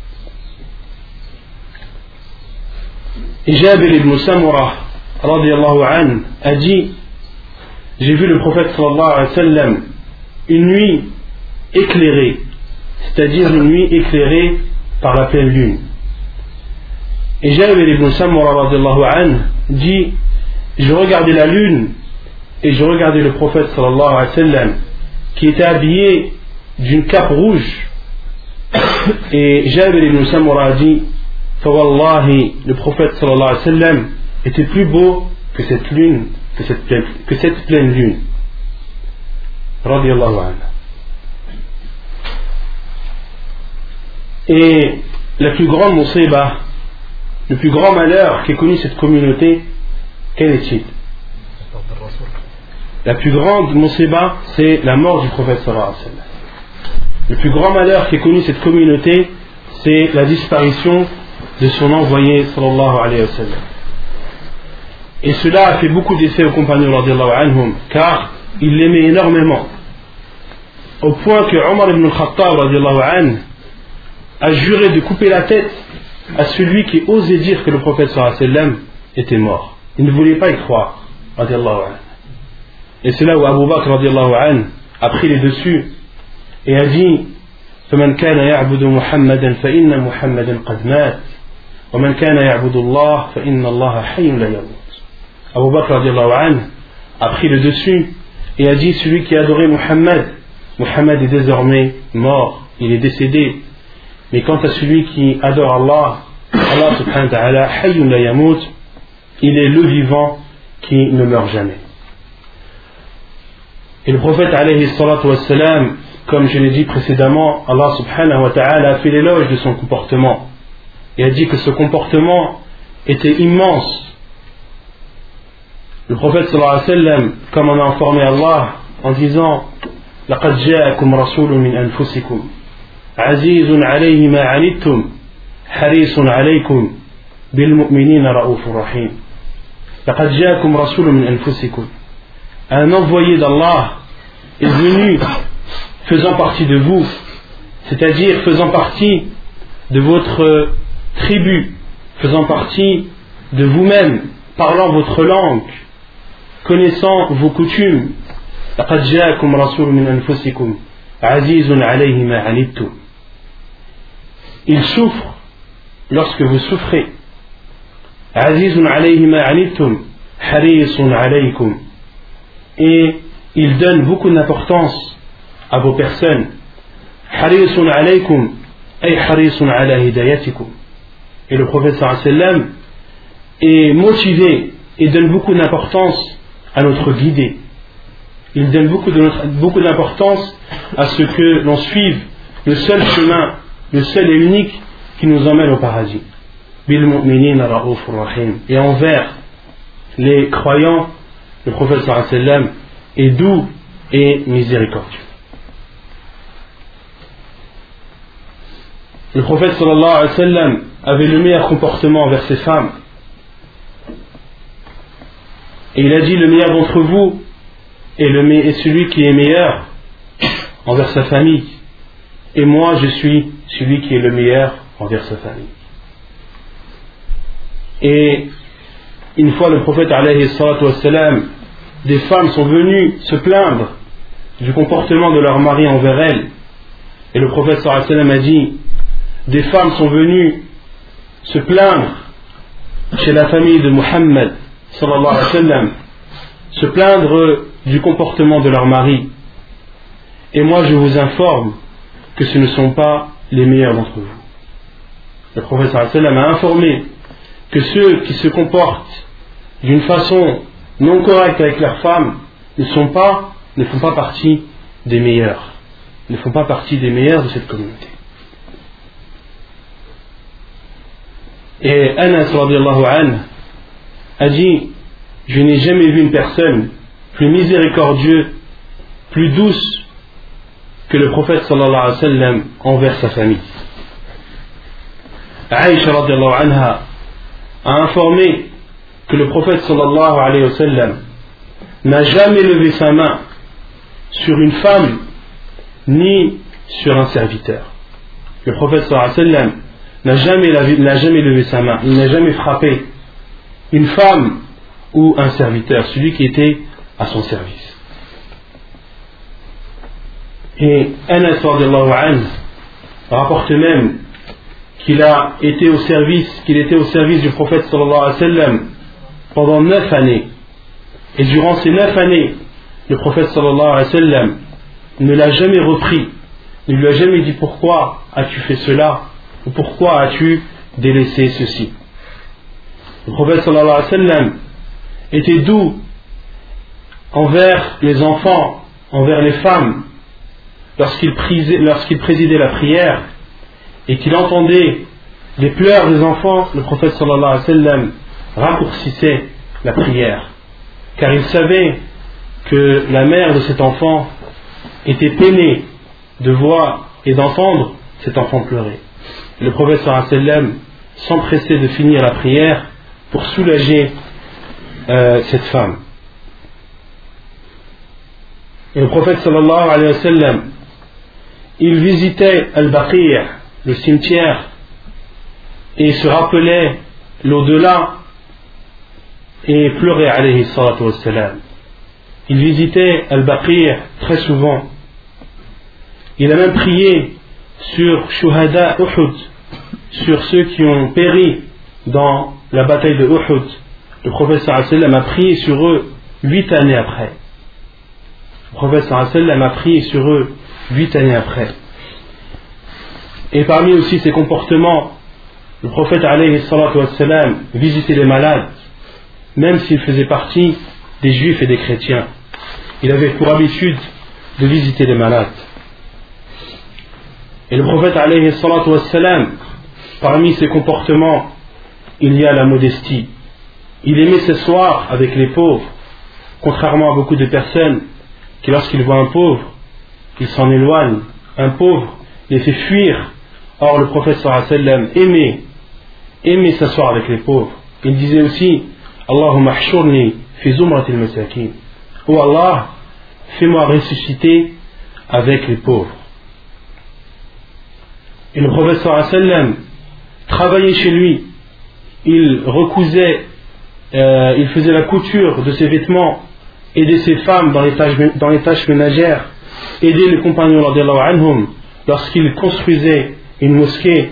Et Jabir ibn Samurah radiallahu anhu a dit: j'ai vu le prophète sallallahu alayhi wa sallam une nuit éclairée, c'est-à-dire une nuit éclairée par la pleine lune. Et Jabir ibn Samurah radiallahu anhu dit: je regardais la lune et je regardais le prophète sallallahu alayhi wa sallam qui était habillé d'une cape rouge. Et Jabir ibn Samurah a dit: Fawallahi, le prophète sallallahu alayhi wa sallam était plus beau que cette lune, que cette pleine lune. Radiallahu anhu. Et la plus grande musiba, le plus grand malheur qu'ait connu cette communauté, quel est-il? La plus grande musiba, c'est la mort du prophète sallallahu alayhi wa sallam. Le plus grand malheur qu'ait connu cette communauté, c'est la disparition de son envoyé sallallahu alayhi wa sallam. Et cela a fait beaucoup d'effet aux compagnons radiallahu anhum, car ils l'aimaient énormément, au point que Omar ibn al-Khattab radiallahu anhu a juré de couper la tête à celui qui osait dire que le prophète sallallahu alayhi wa sallam était mort. Il ne voulait pas y croire, radiallahu anhu. Et c'est là où Abu Bakr radiallahu anhu a pris les dessus et a dit: فمن كان يعبد محمدا فإن محمدا قد مات ومن كان يعبد الله فإن الله حي لا يموت. Abu Bakr radiallahu anhu a pris le dessus et a dit: celui qui adorait Muhammad, Muhammad est désormais mort, il est décédé. Mais quant à celui qui adore Allah, Allah subhanahu wa ta'ala, hayyun la yamut, il est le vivant qui ne meurt jamais. Et le prophète alayhi salatu wassalam, comme je l'ai dit précédemment, Allah subhanahu wa ta'ala a fait l'éloge de son comportement et a dit que ce comportement était immense. Le prophète sallallahu alayhi wa sallam, comme on a informé Allah en disant: لقد جاءكم رسول من أنفسكم عزيز عليه ما عنتم حريص عليكم بالمؤمنين رؤوف رحيم. لقد جاءكم رسول من أنفسكم. Un envoyé d'Allah est venu faisant partie de vous, c'est-à-dire faisant partie de votre tribu, faisant partie de vous-même, parlant votre langue, connaissant vos coutumes. لقد جاءكم رسول من أنفسكم عزيز عليه ما عنتم. Il souffre lorsque vous souffrez. عزيز عليه ما عنتم حريص عليكم. Et il donne beaucoup d'importance à vos personnes. حريص عليكم أي حريص على هدايتكم. Et le prophète sallallahu alayhi wa sallam est motivé et donne beaucoup d'importance à notre guidée. Il donne beaucoup d'importance à ce que l'on suive le seul chemin, le seul et unique qui nous emmène au paradis. Bil mu'minina ra'ufur rahim. Et envers les croyants, le prophète sallallahu alayhi wa sallam est doux et miséricordieux. Le prophète sallallahu alayhi wa sallam avait le meilleur comportement envers ses femmes. Et il a dit: le meilleur d'entre vous est celui qui est meilleur envers sa famille. Et moi, je suis celui qui est le meilleur envers sa famille. Et une fois, le prophète alayhi salatu wassalam, des femmes sont venues se plaindre du comportement de leur mari envers elles. Et le prophète sallallahu alayhi wa sallam a dit: des femmes sont venues se plaindre chez la famille de Muhammad sallallahu alayhi wa sallam, se plaindre du comportement de leur mari. Et moi, je vous informe que ce ne sont pas les meilleurs d'entre vous. Le prophète sallallahu alayhi wa sallam a informé que ceux qui se comportent d'une façon non correcte avec leurs femmes ne font pas partie des meilleurs, ne font pas partie des meilleurs de cette communauté. Et Anas radiyallahu anhu a dit: je n'ai jamais vu une personne plus miséricordieuse, plus douce que le prophète sallallahu alayhi wa sallam envers sa famille. Aïcha radiyallahu anha a informé que le prophète sallallahu alayhi wa sallam n'a jamais levé sa main sur une femme ni sur un serviteur. Le prophète sallallahu alayhi wa sallam n'a jamais levé sa main, il n'a jamais frappé une femme ou un serviteur, celui qui était à son service. Et Anas radiyallahu anhu rapporte même qu'il était au service du prophète sallallahu alayhi wa sallam pendant 9 années. Et durant ces 9 années, le prophète sallallahu alayhi wa sallam ne l'a jamais repris, ne lui a jamais dit: pourquoi as-tu fait cela, ou pourquoi as-tu délaissé ceci. Le prophète sallallahu alayhi wa sallam était doux envers les enfants, envers les femmes, lorsqu'il présidait la prière et qu'il entendait les pleurs des enfants. Le prophète sallallahu alayhi wa sallam raccourcissait la prière, car il savait que la mère de cet enfant était peinée de voir et d'entendre cet enfant pleurer. Le prophète sallallahu alayhi wa sallam s'empressait de finir la prière pour soulager cette femme. Et le prophète sallallahu alayhi wa sallam, il visitait Al-Baqi', le cimetière, et se rappelait l'au-delà et pleurait alayhi salatu wa salam. Il visitait Al-Baqi' très souvent. Il a même prié sur Shuhada Uhud, sur ceux qui ont péri dans la bataille de Uhud. Le prophète sallallahu alayhi wa sallam a prié sur eux 8 années après. Le prophète sallallahu alayhi wa sallam a prié sur eux 8 années après. Et parmi aussi ses comportements, le prophète alayhi salatu wa salam visitait les malades, même s'il faisait partie des juifs et des chrétiens. Il avait pour habitude de visiter les malades. Et le prophète alayhi salatu wa salam, parmi ses comportements, il y a la modestie. Il aimait s'asseoir avec les pauvres, contrairement à beaucoup de personnes qui, lorsqu'ils voient un pauvre, ils s'en éloignent. Un pauvre les fait fuir. Or, le prophète sallallahu alayhi wa sallam aimait s'asseoir avec les pauvres. Il disait aussi: Allahumma hshurni fi zumratil masakin. Oh Allah, fais-moi ressusciter avec les pauvres. Et le prophète sallallahu alayhi wa sallam travaillait chez lui. Il recousait, il faisait la couture de ses vêtements, aidait ses femmes dans les tâches ménagères, aidait les compagnons radiyallahu anhum lorsqu'ils construisaient une mosquée.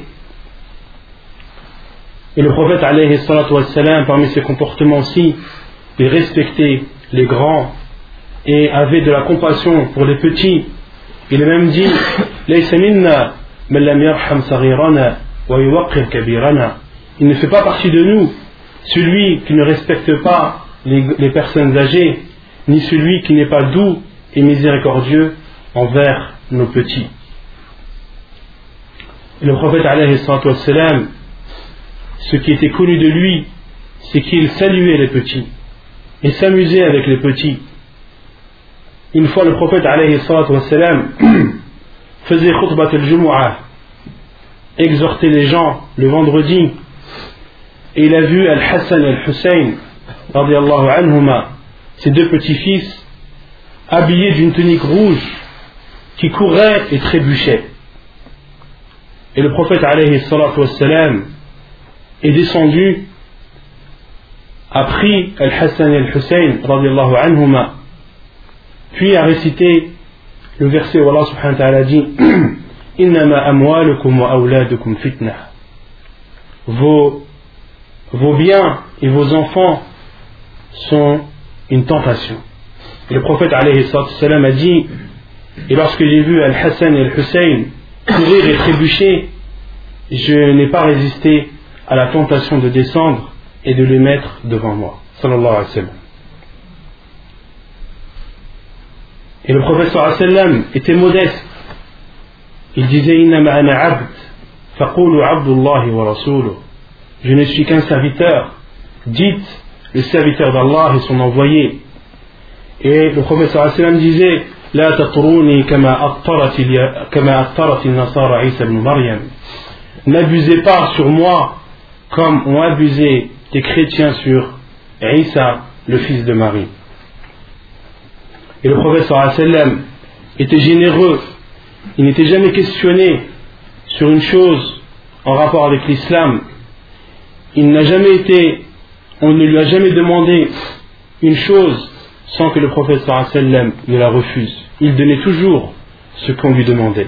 Et le prophète alayhi salatu wa salam, parmi ses comportements aussi, il respectait les grands et avait de la compassion pour les petits. Il a même dit: Laysa minna man lam yarham saghirana wa yuwaqqir kabirana. Il ne fait pas partie de nous celui qui ne respecte pas les personnes âgées, ni celui qui n'est pas doux et miséricordieux envers nos petits. Et le prophète alayhi salatu wassalam, ce qui était connu de lui, c'est qu'il saluait les petits et s'amusait avec les petits. Une fois le prophète alayhi salatu wassalam faisait khutbat al-jumu'ah, exhortait les gens le vendredi, et il a vu Al-Hassan et Al-Hussein radiyallahu anhuma, ses deux petits-fils, habillés d'une tunique rouge qui couraient et trébuchaient. Et le prophète alayhi salatu wassalam est descendu, a pris Al-Hassan et Al-Hussein radiyallahu anhuma, puis a récité le verset où Allah subhanahu wa ta'ala dit Innama amwalukum wa awladukum fitna. Vos biens et vos enfants sont une tentation. Et le prophète alayhi sallam a dit, et lorsque j'ai vu Al-Hassan et Al-Hussein courir et trébucher, je n'ai pas résisté à la tentation de descendre et de les mettre devant moi. Sallallahu alayhi wa sallam. Et le prophète sallallahu alayhi wa sallam était modeste. Il disait Innama ana abd, faqulu abdullahi wa rasuluh. Je ne suis qu'un serviteur. Dites le serviteur d'Allah et son envoyé. Et le prophète sallallahu alayhi wa sallam disait La tatruni kama attarat al-nasara Isa ibn Maryam. N'abusez pas sur moi comme ont abusé les chrétiens sur Isa, le fils de Marie. Et le prophète sallallahu alayhi wa sallam était généreux. Il n'était jamais questionné sur une chose en rapport avec l'islam. On ne lui a jamais demandé une chose sans que le prophète sallallahu alayhi wa sallam ne la refuse. Il donnait toujours ce qu'on lui demandait.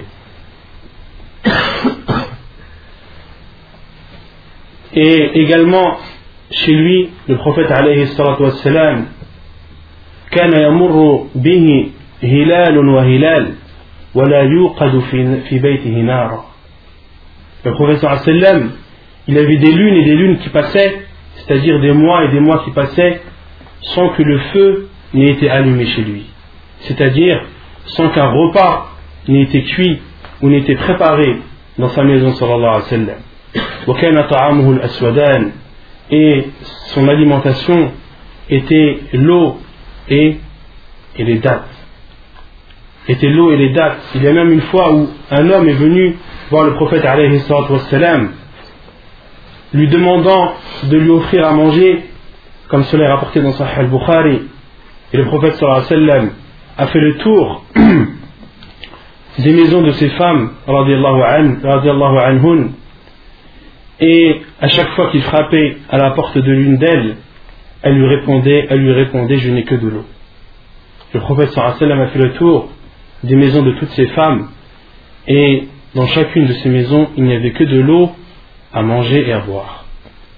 Et également, chez lui, le prophète alayhi salatu wa sallam, كان يمر به هلال وهلال ولا يوقد في بيته نار. Le prophète sallallahu alayhi wa sallam, il avait des lunes et des lunes qui passaient, c'est-à-dire des mois et des mois qui passaient, sans que le feu n'ait été allumé chez lui. C'est-à-dire sans qu'un repas n'ait été cuit ou n'ait été préparé dans sa maison sallallahu alayhi wa sallam. وكان طعامه الأسودان, et son alimentation était l'eau et les dattes. Était l'eau et les dattes. Il y a même une fois où un homme est venu voir le prophète alayhi salatu wassalam, lui demandant de lui offrir à manger, comme cela est rapporté dans Sahih al-Bukhari. Et le prophète sallallahu alayhi wa sallam a fait le tour des maisons de ses femmes radiyallahu anhun, et à chaque fois qu'il frappait à la porte de l'une d'elles, elle lui répondait je n'ai que de l'eau. Le prophète sallallahu alayhi wa sallam a fait le tour des maisons de toutes ces femmes, et dans chacune de ces maisons il n'y avait que de l'eau à manger et à boire.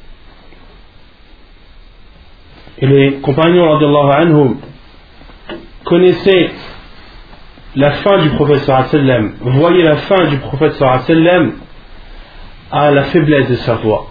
Et les compagnons radiyallahu anhum connaissaient la fin du prophète sallallahu alayhi wa sallam, voyaient la fin du prophète sallallahu alayhi wa sallam à la faiblesse de sa voix.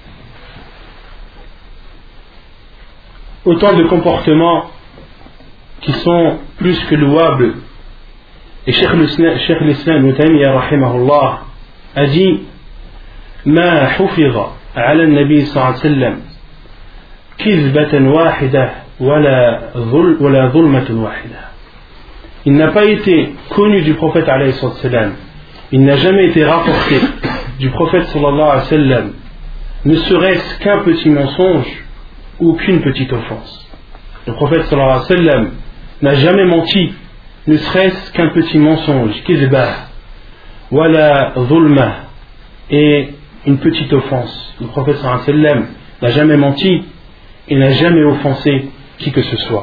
Autant de comportements qui sont plus que louables. Et Cheikh l'Islam Ibn Taymiyyah rahimahullah a dit ما حفظ على النبي صلى الله عليه وسلم كذبة واحدة ولا ظلمة واحدة. Il n'a pas été connu du prophète alayhi sallam, il n'a jamais été rapporté du prophète sallallahu alayhi wa sallam, ne serait-ce qu'un petit mensonge ou qu'une petite offense. Le prophète sallallahu alayhi wa sallam n'a jamais menti, ne serait-ce qu'un petit mensonge, kizbah, wala zulma, et une petite offense. Le prophète sallallahu alayhi wa sallam n'a jamais menti et n'a jamais offensé qui que ce soit.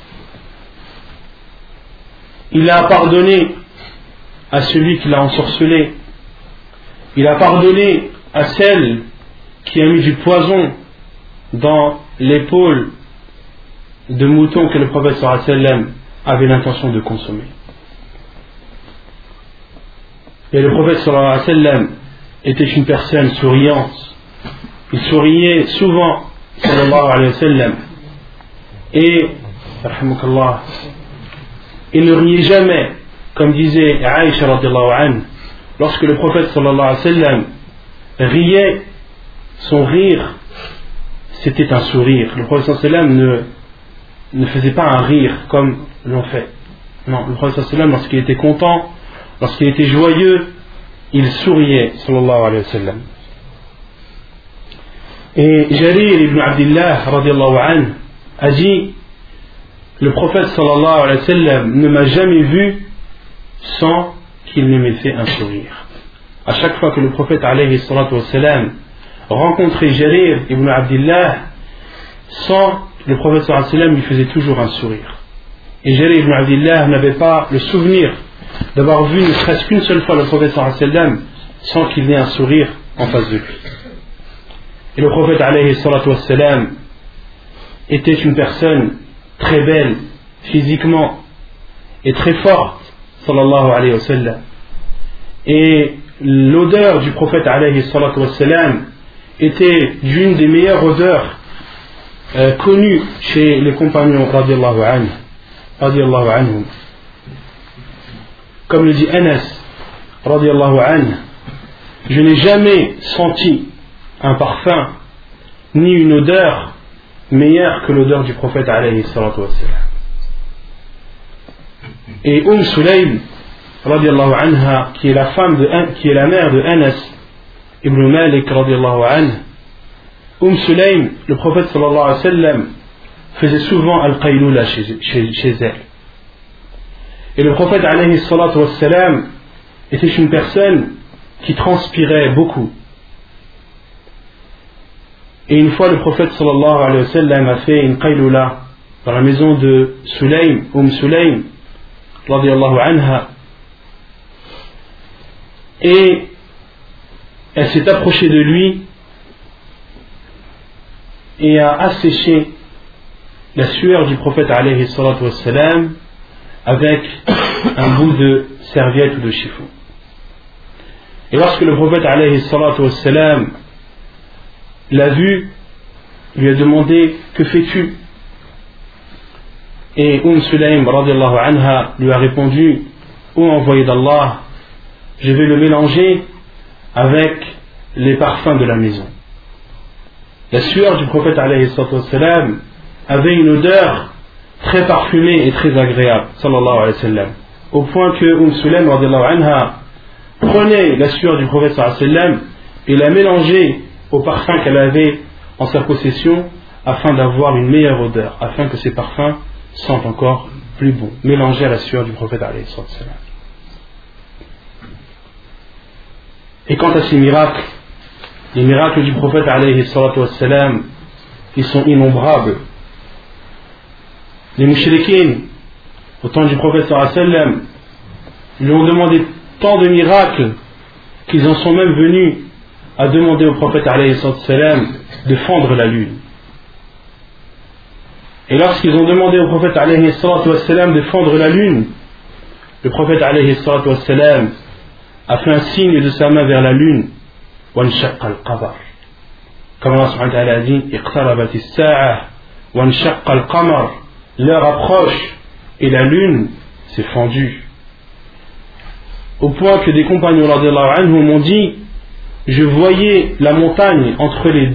Il a pardonné à celui qui l'a ensorcelé. Il a pardonné à celle qui a mis du poison dans l'épaule de mouton que le prophète sallallahu alayhi wa sallam avait l'intention de consommer. Et le prophète sallallahu alayhi wa sallam était une personne souriante. Il souriait souvent sallallahu alayhi wa sallam, et il ne riait jamais, comme disait Aïcha radiyallahu anha lorsque le prophète sallallahu alayhi wa sallam riait, son rire c'était un sourire. Le prophète sallallahu alayhi wa sallam ne faisait pas un rire comme l'on fait. Non, le prophète sallallahu alayhi wa sallam, lorsqu'il était content, lorsqu'il était joyeux, il souriait sallallahu alayhi wa sallam. Et Jarir ibn Abdillah radiallahu anhu a dit: le prophète sallallahu alayhi wa sallam ne m'a jamais vu sans qu'il ne m'ait fait un sourire. À chaque fois que le prophète alayhi salatu wa sallam rencontrait Jarir ibn Abdillah, le prophète sallallahu alayhi wa sallam lui faisait toujours un sourire. Et Jarir ibn Abdillah n'avait pas le souvenir d'avoir vu ne serait-ce qu'une seule fois le prophète sallallahu alayhi wa sallam sans qu'il ait un sourire en face de lui. Et le prophète alayhi salatu wa sallam était une personne très belle physiquement et très forte sallallahu alayhi wa sallam. Et l'odeur du prophète alayhi salatu wa sallam était d'une des meilleures odeurs connues chez les compagnons radiallahu anhum. Comme le dit Anas radiallahu anhu, je n'ai jamais senti un parfum ni une odeur meilleure que l'odeur du prophète alayhi salatu wa sallam. Et Sulaym radiallahu anha, qui est la mère de Anas ibn Malik radiallahu anhu, Sulaym, le prophète sallallahu alayhi wa sallam faisait souvent al-qaylula chez elle. Et le prophète alayhi salatu wa sallam était une personne qui transpirait beaucoup. Et une fois le prophète sallallahu alayhi wa sallam a fait une qaylula dans la maison de Sulaym, Sulaym radiallahu anha, et elle s'est approchée de lui et a asséché la sueur du prophète alayhi salatu wa sallam avec un bout de serviette ou de chiffon. Et lorsque le prophète alayhi salatu wa sallam l'a vu, lui a demandé: que fais-tu? Et Sulaym radiallahu anha lui a répondu: ô envoyé d'Allah, je vais le mélanger avec les parfums de la maison. La sueur du prophète alayhi salatu wa sallam avait une odeur très parfumée et très agréable sallallahu alayhi wa sallam, au point que Sulaym radiallahu anha prenait la sueur du prophète sallallahu alayhi wa sallam et la mélangeait au parfum qu'elle avait en sa possession afin d'avoir une meilleure odeur, afin que ces parfums sentent encore plus bon, mélangés à la sueur du prophète alayhi salatu wa sallam. Et quant à ces miracles, les miracles du prophète alayhi salatu wa sallam, ils sont innombrables. Les mouchriquins, au temps du prophète sallallahu alayhi wa sallam, lui ont demandé tant de miracles qu'ils en sont même venus à demander au prophète alayhi salatu wa sallam de fendre la lune. Et lorsqu'ils ont demandé au prophète alayhi salatu wa sallam de fendre la lune, le prophète alayhi salatu wa sallam a fait un signe de sa main vers la lune, وانشق القمر, comme Allah subhanahu wa ta'ala a dit: اقتربت الساعة وانشق القمر, l'heure approche et la lune s'est fendue. Au point que des compagnons radiallahu anhum m'ont dit: je voyais la montagne entre les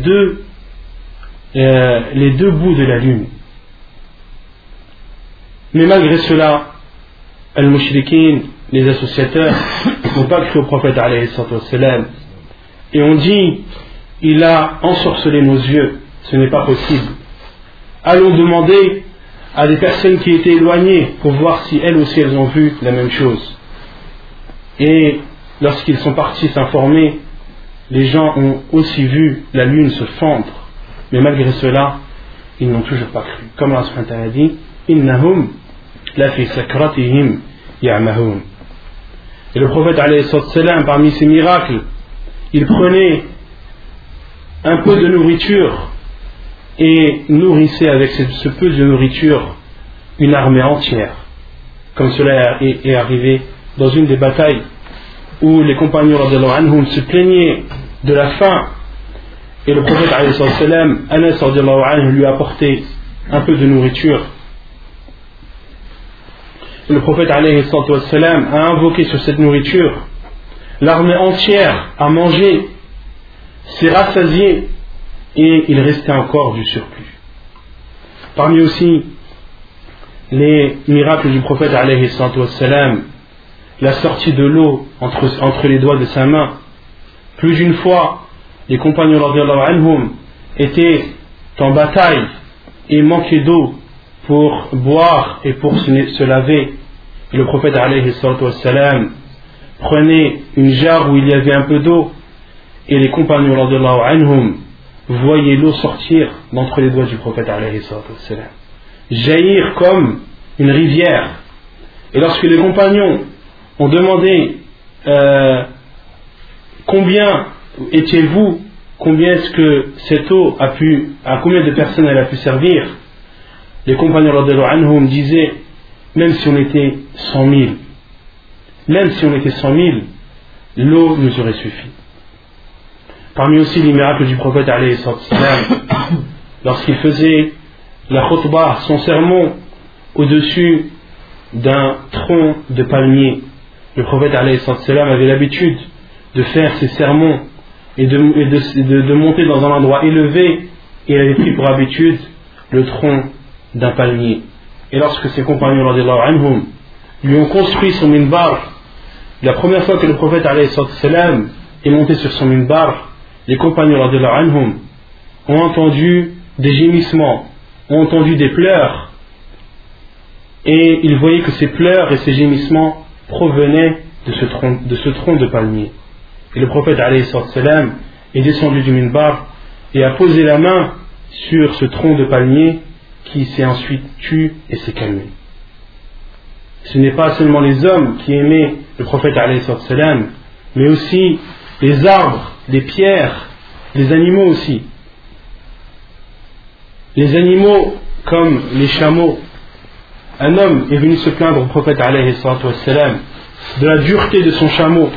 deux bouts de la lune. Mais malgré cela, al-mushrikin, les associateurs, n'ont pas cru au prophète alayhi salatu wa sallam et ont dit: il a ensorcelé nos yeux, ce n'est pas possible. Allons demander à des personnes qui étaient éloignées pour voir si elles aussi elles ont vu la même chose. Et lorsqu'ils sont partis s'informer, les gens ont aussi vu la lune se fendre, mais malgré cela, ils n'ont toujours pas cru. Comme Allah subhanahu wa ta'ala dit: innahum la fi sakratihim ya'mahun. Et le prophète alayhi sallam, parmi ses miracles, il prenait un peu de nourriture et nourrissait avec ce peu de nourriture une armée entière, comme cela est arrivé dans une des batailles où les compagnons radiallahu anhum se plaignaient de la faim, et le prophète alayhi sallam, Anas radiallahu anhu, lui a apporté un peu de nourriture. Et le prophète alayhi sallam a invoqué sur cette nourriture l'armée entière a mangé, s'est rassasiée, et il restait encore du surplus. Parmi aussi les miracles du prophète alayhi salatu wassalam, la sortie de l'eau entre les doigts de sa main. Plus d'une fois, les compagnons radiyallahu anhum étaient en bataille et manquaient d'eau pour boire et pour se laver. Et le prophète alayhi salatu wassalam prenait une jarre où il y avait un peu d'eau, et les compagnons radiyallahu anhum voyaient l'eau sortir d'entre les doigts du prophète alayhi salatu wassalam, jaillir comme une rivière. Et lorsque les compagnons ont demandé combien étiez-vous, combien est-ce que cette eau à combien de personnes elle a pu servir, les compagnons radiyallahu anhum disaient, même si on était 100 000, l'eau nous aurait suffi. Parmi aussi les miracles du prophète alayhi salam, lorsqu'il faisait la khutbah, son sermon, au-dessus d'un tronc de palmier, le prophète alayhi salam avait l'habitude de faire ses sermons et de monter dans un endroit élevé, et il avait pris pour habitude le tronc d'un palmier. Et lorsque ses compagnons radiyallahu anhum lui ont construit son minbar, la première fois que le prophète alayhi salam est monté sur son minbar, les compagnons radiyallahu anhum ont entendu des gémissements, ont entendu des pleurs, et ils voyaient que ces pleurs et ces gémissements provenaient de ce tronc de palmier. Et le prophète alayhi salam est descendu du minbar et a posé la main sur ce tronc de palmier, qui s'est ensuite tu et s'est calmé. Ce n'est pas seulement les hommes qui aimaient le prophète alayhi salam, mais aussi les arbres, les pierres, les animaux aussi. Les animaux comme les chameaux. Un homme est venu se plaindre au prophète alayhi salam de la dureté de son chameau,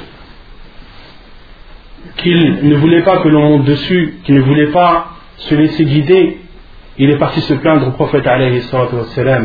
qu'il ne voulait pas que l'on monte dessus, qu'il ne voulait pas se laisser guider. Il est parti se plaindre au prophète alayhi salam.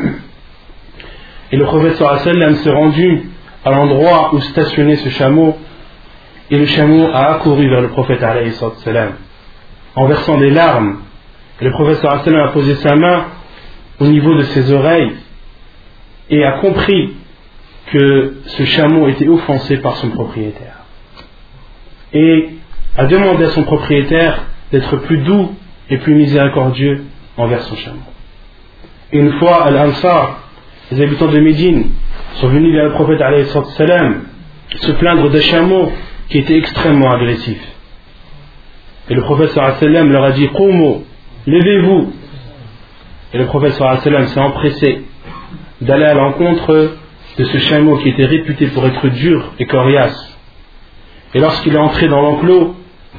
Et le prophète sallam s'est rendu à l'endroit où stationnait ce chameau, et le chameau a accouru vers le prophète alayhi salam en versant des larmes. Et le prophète sallam a posé sa main au niveau de ses oreilles et a compris que ce chameau était offensé par son propriétaire, et a demandé à son propriétaire d'être plus doux et plus miséricordieux envers son chameau. Et une fois, Al-Ansar, les habitants de Médine, sont venus vers le prophète alayhi salam se plaindre d'un chameau qui était extrêmement agressif. Et le prophète sallam leur a dit: Qumu, levez-vous. Et le prophète sallam s'est empressé d'aller à l'encontre de ce chameau qui était réputé pour être dur et coriace. Et lorsqu'il est entré dans l'enclos,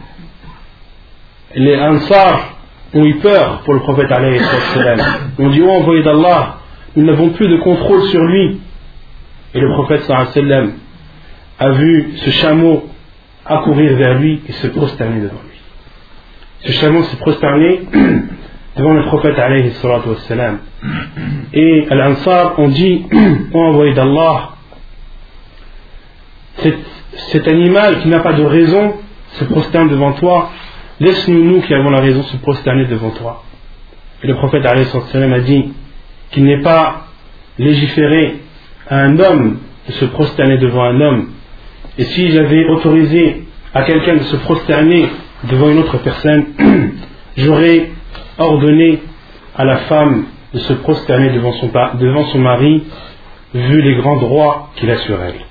les Ansar ont eu peur pour le prophète alayhi salam. Ils ont dit: oh envoyé d'Allah, nous n'avons plus de contrôle sur lui. Et le prophète sallam a vu ce chameau accourir vers lui et se prosterner devant lui. Ce chameau s'est prosterné devant le prophète alayhi salam. Et Al-Ansar ont dit: oh envoyé d'Allah, cet animal qui n'a pas de raison se prosterne devant toi, laisse-nous, nous qui avons la raison, se prosterner devant toi. Et le prophète alayhi salam a dit qu'il n'est pas légiféré à un homme de se prosterner devant un homme. Et si j'avais autorisé à quelqu'un de se prosterner devant une autre personne, j'aurais ordonné à la femme de se prosterner devant son mari, vu les grands droits qu'il a sur elle.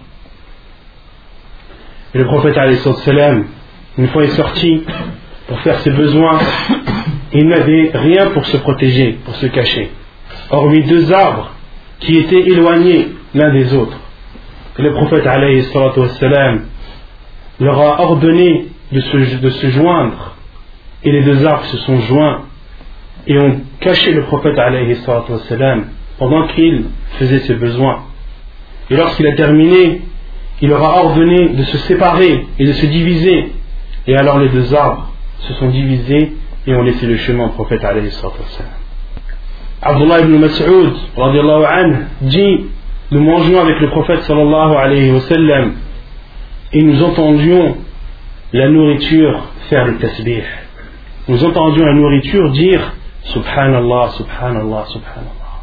Et le prophète alayhi salam, une fois est sorti pour faire ses besoins, il n'avait rien pour se protéger, pour se cacher, hormis deux arbres qui étaient éloignés l'un des autres. Et le prophète alayhi salam leur a ordonné de se joindre, et les deux arbres se sont joints et ont caché le prophète alayhi salam pendant qu'il faisait ses besoins. Et lorsqu'il a terminé, il leur a ordonné de se séparer et de se diviser, et alors les deux arbres se sont divisés et ont laissé le chemin au prophète alayhi salam. Abdullah ibn Mas'ud radiallahu anhu dit: nous mangeons avec le prophète sallallahu alayhi wa sallam et nous entendions la nourriture faire le tasbih. Nous entendions la nourriture dire Subhanallah, Subhanallah, Subhanallah.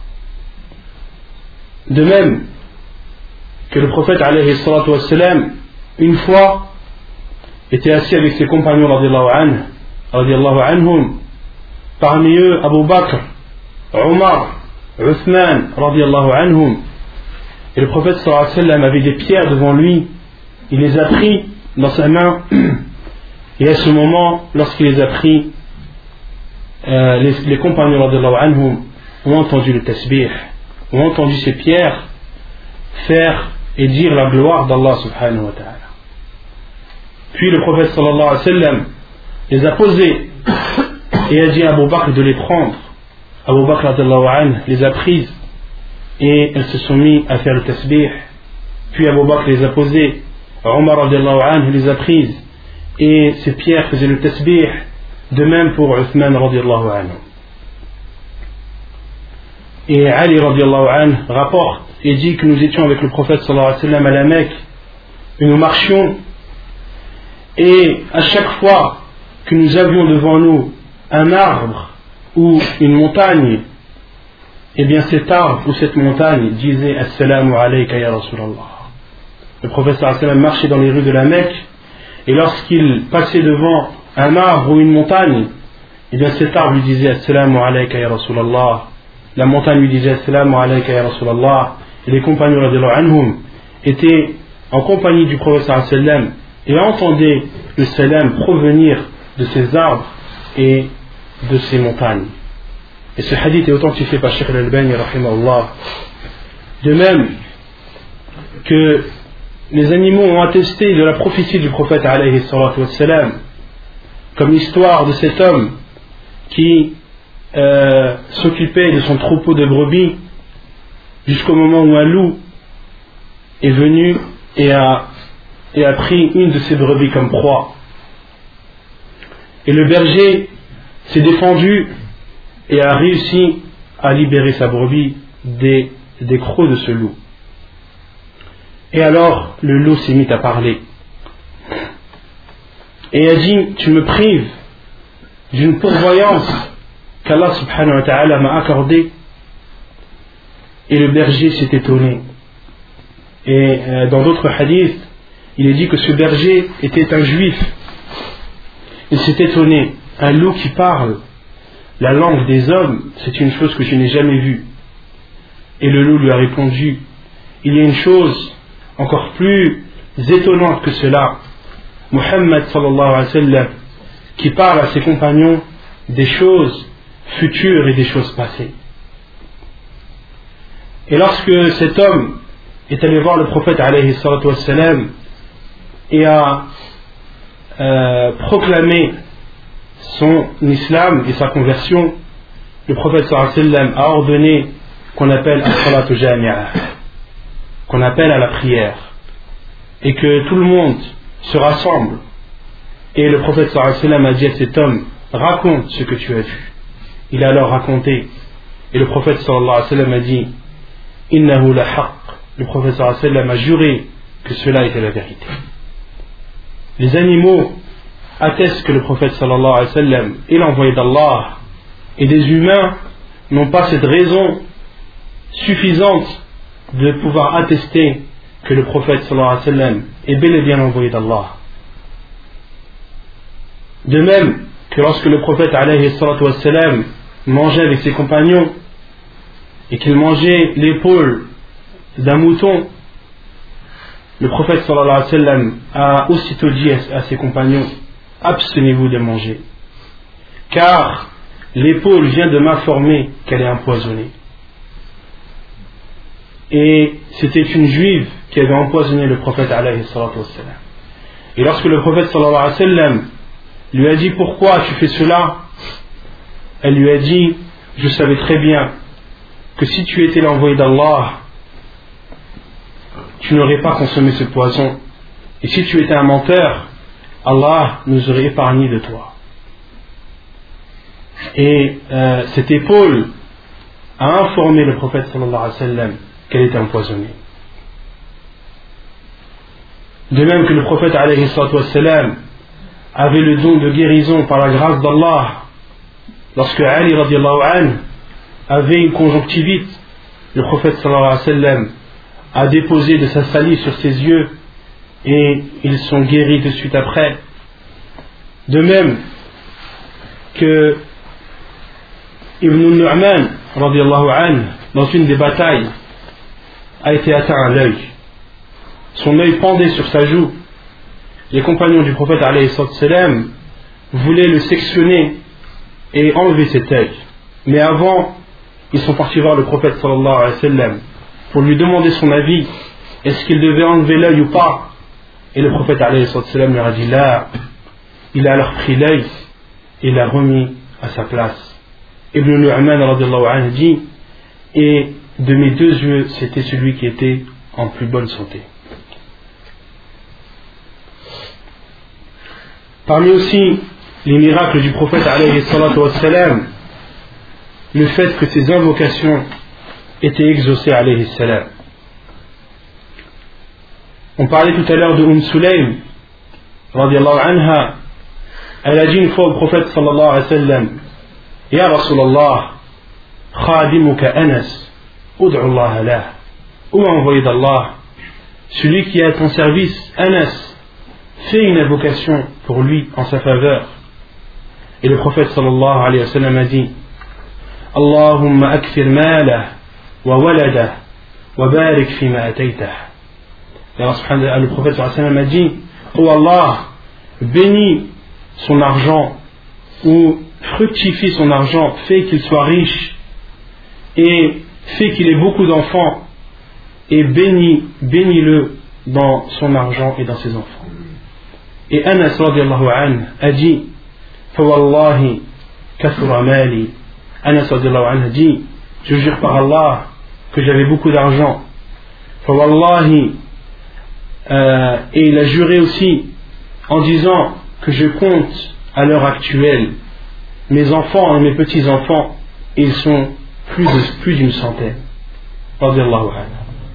De même que le prophète alayhi salatu wassalam, une fois, était assis avec ses compagnons radiallahu anhum, parmi eux Abu Bakr, Omar, Uthman radiallahu anhum, et le prophète sallallahu alayhi wa sallam avait des pierres devant lui, il les a pris dans sa main, et à ce moment, lorsqu'il les a pris, les compagnons radiallahu anhum ont entendu le tasbih, ont entendu ces pierres faire et dire la gloire d'Allah subhanahu wa ta'ala. Puis le prophète sallallahu alayhi wa sallam les a posées et a dit à Abu Bakr de les prendre. Abu Bakr radiallahu anhu les a prises et elles se sont mis à faire le tasbih. Puis Abu Bakr les a posées, Omar radiallahu anhu les a prises et ces pierres faisaient le tasbih. De même pour Uthman radiallahu anhu. Et Ali radiallahu anhu rapporte et dit que nous étions avec le prophète sallallahu alayhi wa sallam à la Mecque et nous marchions, et à chaque fois que nous avions devant nous un arbre ou une montagne, et bien cet arbre ou cette montagne disait Assalamu alayka ya Rasulallah. Le prophète sallallahu alayhi wa sallam marchait dans les rues de la Mecque, et lorsqu'il passait devant un arbre ou une montagne, et bien cet arbre lui disait Assalamu alayka ya Rasulallah, la montagne lui disait Assalamu alayka ya Rasulallah, et les compagnons radiallahu anhum étaient en compagnie du prophète sallallahu alayhi wa sallam et entendaient le salam provenir de ces arbres et de ces montagnes. Et ce hadith est authentifié par Cheikh al-Albani rahimahullah. De même que les animaux ont attesté de la prophétie du prophète alayhi salatu wassalam, comme l'histoire de cet homme qui s'occupait de son troupeau de brebis jusqu'au moment où un loup est venu et a pris une de ses brebis comme proie. Et le berger s'est défendu et a réussi à libérer sa brebis des crocs de ce loup. Et alors le loup s'est mis à parler et a dit tu me prives d'une pourvoyance qu'Allah subhanahu wa ta'ala m'a accordée. Et le berger s'est étonné. Et dans d'autres hadiths, il est dit que ce berger était un juif. Il s'est étonné. Un loup qui parle la langue des hommes, c'est une chose que je n'ai jamais vue. Et le loup lui a répondu, il y a une chose encore plus étonnante que cela. Muhammad sallallahu alayhi wa sallam, qui parle à ses compagnons des choses futures et des choses passées. Et lorsque cet homme est allé voir le prophète alayhi salatu wassalam et a proclamé son islam et sa conversion, le prophète sallallahu alayhi wa sallam a ordonné qu'on appelle as-salatu jami'a, qu'on appelle à la prière, et que tout le monde se rassemble. Et le prophète sallallahu alayhi wa sallam a dit à cet homme, raconte ce que tu as vu. Il a alors raconté, et le prophète sallallahu alayhi wa sallam a dit, innahu la haqq. Le prophète sallallahu alayhi wa sallam a juré que cela était la vérité. Les animaux attestent que le prophète sallallahu alayhi wa sallam est l'envoyé d'Allah, et des humains n'ont pas cette raison suffisante de pouvoir attester que le prophète sallallahu alayhi wa sallam est bel et bien l'envoyé d'Allah. De même que lorsque le prophète alayhi salatu wa sallam mangeait avec ses compagnons et qu'il mangeait l'épaule d'un mouton, le prophète sallallahu alayhi wa sallam a aussitôt dit à ses compagnons, abstenez-vous de manger, car l'épaule vient de m'informer qu'elle est empoisonnée. Et c'était une juive qui avait empoisonné le prophète alayhi salatu wa sallam. Et lorsque le prophète sallallahu alayhi wa sallam lui a dit pourquoi tu fais cela, elle lui a dit, je savais très bien que si tu étais l'envoyé d'Allah, tu n'aurais pas consommé ce poison, et si tu étais un menteur, Allah nous aurait épargné de toi. Et cette épaule a informé le prophète sallallahu alayhi wa sallam qu'elle était empoisonnée. De même que le prophète alayhi salatu wassalam avait le don de guérison par la grâce d'Allah. Lorsque Ali radiallahu anhu avait une conjonctivite, le prophète sallallahu alayhi wa sallam a déposé de sa salive sur ses yeux et ils sont guéris de suite après. De même que Ibn Nu'man radiallahu anhu, dans une des batailles, a été atteint à l'œil. Son œil pendait sur sa joue. Les compagnons du prophète alayhi salam voulaient le sectionner et enlever cet œil. Mais avant, ils sont partis voir le prophète sallallahu alayhi wa sallam pour lui demander son avis. Est-ce qu'il devait enlever l'œil ou pas? Et le prophète alayhi salam leur a dit là. Il a alors pris l'œil et l'a remis à sa place. Ibn Nu'man radiallahu anhu dit, et de mes deux yeux, c'était celui qui était en plus bonne santé. Parmi aussi les miracles du prophète alayhi salatu wassalam, le fait que ses invocations étaient exaucées alayhi salam. On parlait tout à l'heure de Sulaym radiallahu anha. Elle a dit une fois au prophète sallallahu alayhi wa sallam, Ya Rasulallah, khadimuka Anas, ud'u Allah lah. Ô envoyé d'Allah, celui qui est à ton service, Anas, fais une invocation pour lui en sa faveur. Et le prophète sallallahu alayhi wa sallam a dit, Allahumma akthir malah wa waladah wa barik fima ataytah. Et Allah subhanahu wa ta'ala, le prophète sallallahu alayhi wa sallam a dit, ô Allah, bénis son argent ou fructifie son argent, fait qu'il soit riche et fait qu'il ait beaucoup d'enfants et bénis-le dans son argent et dans ses enfants. Et Anas radiallahu anhu a dit, Fawallahi kathura mali. Anas radiallahu anhu a dit, je jure par Allah que j'avais beaucoup d'argent. Fawallahi, et il a juré aussi en disant que je compte à l'heure actuelle mes enfants et mes petits-enfants, et ils sont plus d'une centaine. Radiallahu anhu.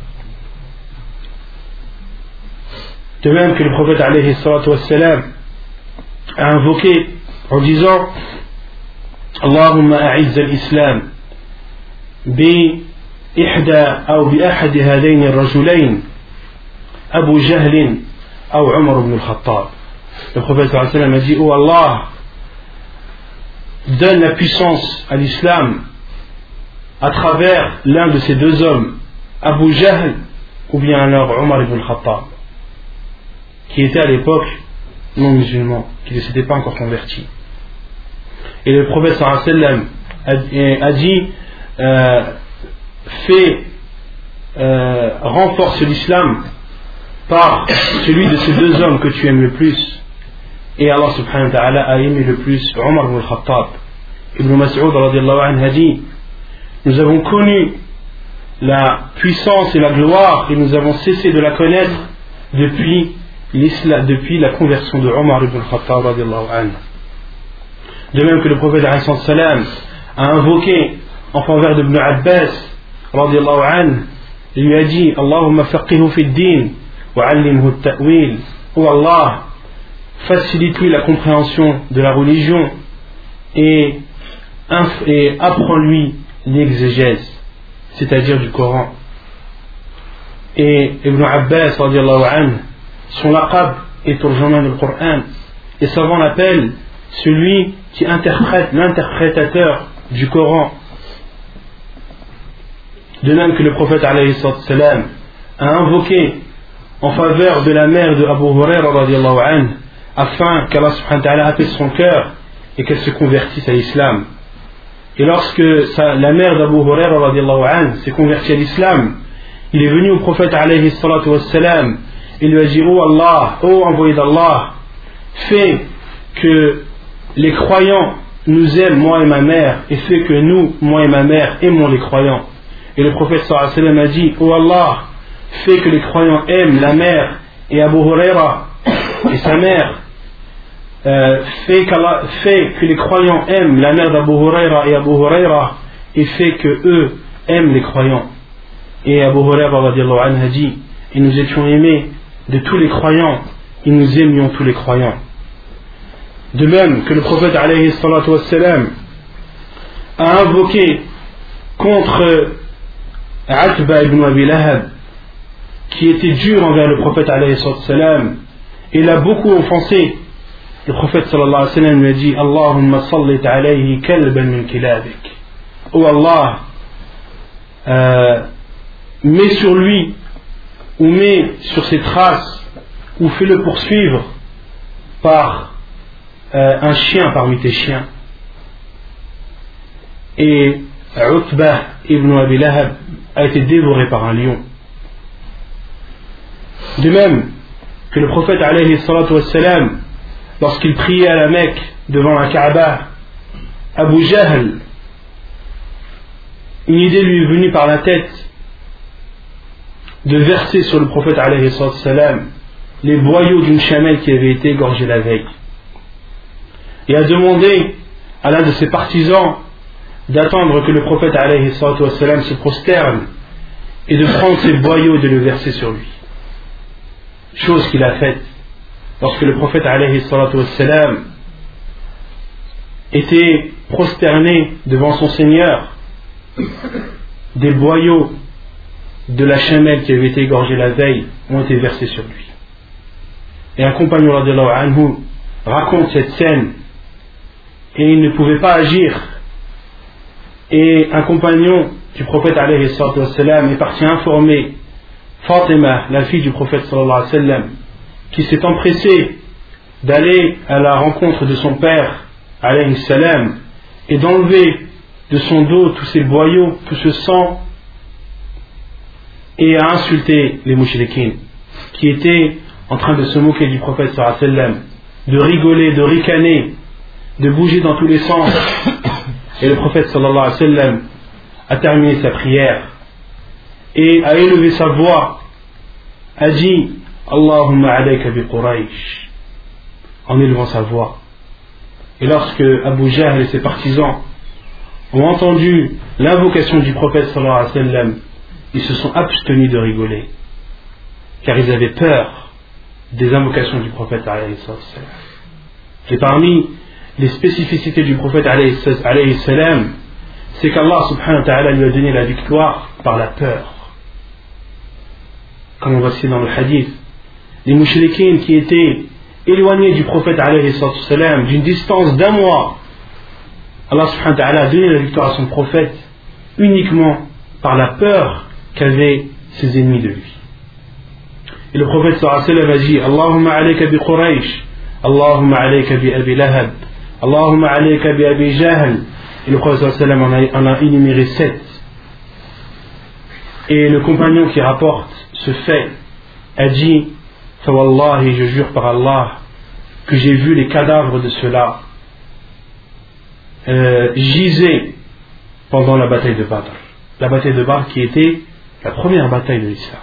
De même que le prophète alayhi salatu wassalam a invoqué en disant Allahumma a'izz al-islam bi ihda ou bi ahadi hadayn ar-rajulayn Abu Jahl ou Umar ibn al-Khattab. Le prophète sallallahu alayhi wa sallam a dit, oh Allah, donne la puissance à l'islam à travers l'un de ces deux hommes, Abu Jahl ou bien alors Umar ibn al-Khattab, qui était à l'époque non musulman, qui ne s'était pas encore converti. Et le prophète sallallahu alayhi wa sallam a dit, renforce l'islam par celui de ces deux hommes que tu aimes le plus. Et Allah subhanahu wa ta'ala a aimé le plus Omar ibn al-Khattab. Ibn Mas'ud radiallahu anhu a dit, nous avons connu la puissance et la gloire et nous avons cessé de la connaître depuis la conversion de Omar ibn al-Khattab radiallahu anhu. De même que le prophète alayhi salam a invoqué en faveur d'Ibn Abbas radiallahu anhu, il lui a dit, Allahumma faqihu fi d-din wa 'allimhu at-ta'wil. Oh Allah, facilite-lui la compréhension de la religion et apprends-lui l'exégèse, c'est-à-dire du Coran. Et Ibn Abbas radiallahu anhu, son laqab est turjuman du Coran. Les savants l'appellent celui qui interprète, l'interprétateur du Coran. De même que le prophète alayhi salam a invoqué en faveur de la mère de Abu Huraira radiallahu anhu, afin qu'Allah subhanahu wa ta'ala apaise son cœur et qu'elle se convertisse à l'islam. Et lorsque la mère d'Abu Huraira radiallahu anhu s'est convertie à l'islam, il est venu au prophète alayhi salatu wassalam et lui a dit, oh Allah, oh envoyé d'Allah, fais que les croyants nous aiment, moi et ma mère, et fais que nous, moi et ma mère, aimons les croyants. Et le prophète sallallahu alayhi wa sallam a dit, oh Allah, fais que les croyants aiment la mère et Abu Huraira et sa mère, fait que les croyants aiment la mère d'Abu Huraira et Abu Huraira, et fait que eux aiment les croyants. Et Abu Huraira radiallahu anhu a dit, et nous étions aimés de tous les croyants et nous aimions tous les croyants. De même que le prophète alayhi salatu wassalam a invoqué contre Atba ibn Abi Lahab, qui était dur envers le prophète alayhi salatu wassalam, et l'a beaucoup offensé. Le prophète sallallahu alayhi wa sallam lui a dit: Allahumma sallit alayhi kalban min kilabik. Oh Allah, mets sur lui, ou mets sur ses traces, ou fais-le poursuivre par un chien parmi tes chiens. Et Utbah ibn Abi Lahab a été dévoré par un lion. De même que le prophète alayhi salatu wassalam, lorsqu'il priait à la Mecque devant la Kaaba, Abu Jahl, une idée lui est venue par la tête de verser sur le prophète alayhi salatu wassalam les boyaux d'une chamelle qui avait été égorgée la veille, et a demandé à l'un de ses partisans d'attendre que le prophète alayhi salatu wassalam se prosterne et de prendre ses boyaux et de le verser sur lui. Chose qu'il a faite lorsque le prophète alayhi salatu wassalam était prosterné devant son Seigneur. Des boyaux de la chamelle qui avait été égorgée la veille ont été versés sur lui. Et un compagnon radiyallahu anhu raconte cette scène, et il ne pouvait pas agir. Et un compagnon du prophète alayhi salatu wassalam est parti informer Fatima, la fille du prophète sallallahu alayhi wa sallam, qui s'est empressée d'aller à la rencontre de son père alayhi salam et d'enlever de son dos tous ces boyaux, tout ce sang, et a insulté les mouchriquines qui étaient en train de se moquer du prophète sallallahu alayhi wa sallam, de rigoler, de ricaner, de bouger dans tous les sens. Et le prophète sallallahu alayhi wa sallam a terminé sa prière et a élevé sa voix, a dit: Allahumma alayka bi Quraysh, en élevant sa voix. Et lorsque Abu Jahl et ses partisans ont entendu l'invocation du prophète sallallahu alayhi wa sallam, ils se sont abstenus de rigoler, car ils avaient peur des invocations du prophète alayhi sallam. Et parmi les spécificités du prophète alayhi salam, c'est qu'Allah subhanahu wa ta'ala lui a donné la victoire par la peur. Comme on va citer dans le hadith, les mouchriquines qui étaient éloignés du prophète alayhi salam d'une distance d'un mois, Allah subhanahu wa ta'ala a donné la victoire à son prophète uniquement par la peur qu'avaient ses ennemis de lui. Et le prophète sallallahu alayhi wa sallam a dit: Allahumma alayka bi Quraysh, Allahumma alayka bi Abi Lahab, Allahumma alayka bi Abi Jahl. Et le prophète sallallahu alayhi wa sallam en a énuméré 7. Et le compagnon qui rapporte ce fait a dit: Fawallahi, je jure par Allah que j'ai vu les cadavres de ceux-là gisaient pendant la bataille de Badr. La bataille de Badr qui était la première bataille de l'islam.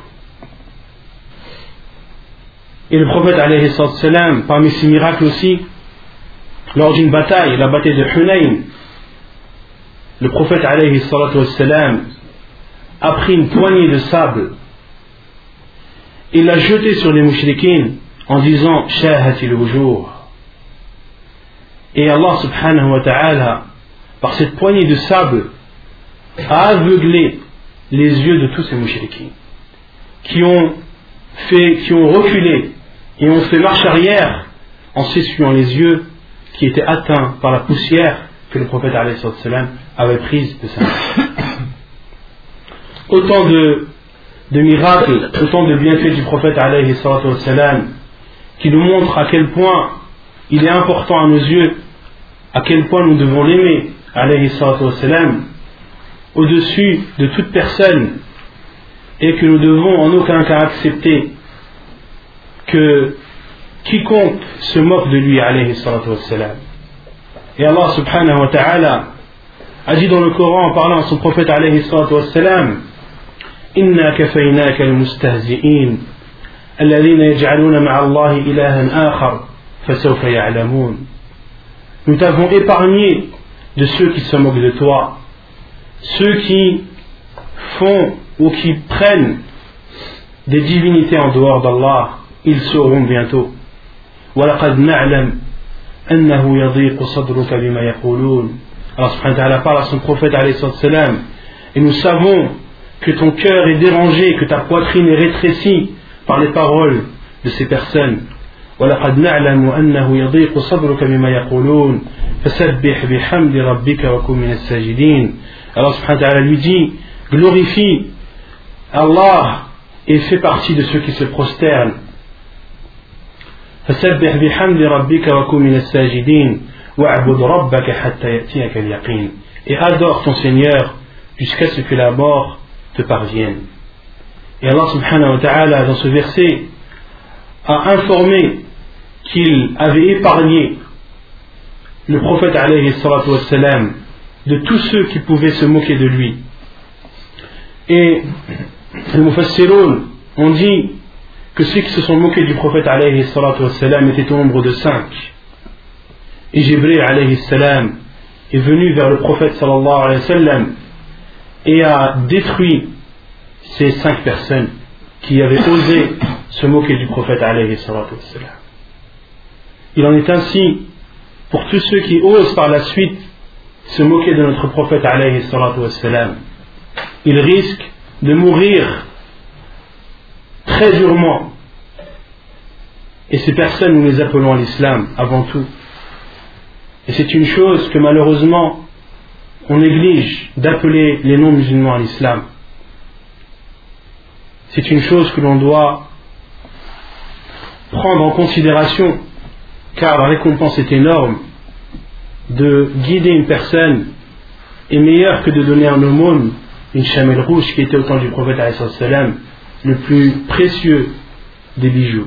Et le prophète alayhi salam, parmi ses miracles aussi, lors d'une bataille, la bataille de Hunayn, le prophète alayhi salam a pris une poignée de sable et l'a jeté sur les mouchriquines en disant: Shahatil wujuh. Et Allah subhanahu wa ta'ala, par cette poignée de sable, a aveuglé les yeux de tous ces mouchriquines qui ont reculé et ont fait marche arrière en s'essuyant les yeux qui étaient atteints par la poussière que le prophète alayhi salam avait prise de sa main. Autant de miracles, autant de bienfaits du prophète alayhi salam qui nous montrent à quel point il est important à nos yeux, à quel point nous devons l'aimer alayhi salam au-dessus de toute personne, et que nous devons en aucun cas accepter que quiconque se moque de lui alayhi salam. Et Allah subhanahu wa ta'ala a dit dans le Coran en parlant à son prophète alayhi salam: Inna kafaynaka al-mustahzi'in alladhina yaj'aluna ma'a Allahi ilahan akhar fasawfa ya'lamun. Nous t'avons épargné de ceux qui se moquent de toi, ceux qui font ou qui prennent des divinités en dehors d'Allah. ils sauront bientôt. وَلَقَدْ نَعْلَمْ أَنَّهُ يَضِيقُ صَدْرُكَ بِمَا يَقُولُونَ. Allah subhanahu wa ta'ala parle à son prophète alayhi salam, et nous savons que ton cœur est dérangé, que ta poitrine est rétrécie par les paroles de ces personnes. وَلَقَدْ نَعْلَمُ أَنَّهُ يَضِيقُ صَدْرُكَ بِمَا يَقُولُونَ فَسَبِّحْ بِحَمْدِ رَبِّكَ وَكُن مِنَ السَّاجِدِينَ. Allah subhanahu wa ta'ala lui dit, glorifie Allah et fais partie de ceux qui se prosternent. فَسَبِّحْ بِحَمْدِ رَبِّكَ وَكُن مِنَ السَّاجِدِينَ وَاعْبُدْ رَبَّكَ حَتَّى يَأْتِيَكَ الْيَقِينُ. Et adore ton Seigneur jusqu'à ce que la mort te parvienne. Et Allah subhanahu wa ta'ala dans ce verset a informé qu'il avait épargné le prophète alayhi salatu wassalam de tous ceux qui pouvaient se moquer de lui. Et les mufassiroun ont dit que ceux qui se sont moqués du prophète alayhi salatu wassalam étaient au nombre de 5. Et Jibril alayhi salam est venu vers le prophète sallallahu alayhi wa sallam et a détruit ces 5 personnes qui avaient osé se moquer du prophète alayhi salatu wassalam. Il en est ainsi pour tous ceux qui osent par la suite se moquer de notre prophète alayhi salatu wassalam. Ils risquent de mourir très durement. Et ces personnes, nous les appelons à l'islam avant tout. Et c'est une chose que malheureusement on néglige d'appeler les non-musulmans à l'islam. C'est une chose que l'on doit prendre en considération, car la récompense est énorme. De guider une personne est meilleur que de donner un aumône, une chamelle rouge qui était au temps du prophète alayhi salam, le plus précieux des bijoux.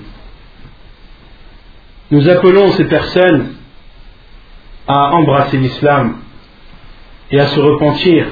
Nous appelons ces personnes à embrasser l'islam et à se repentir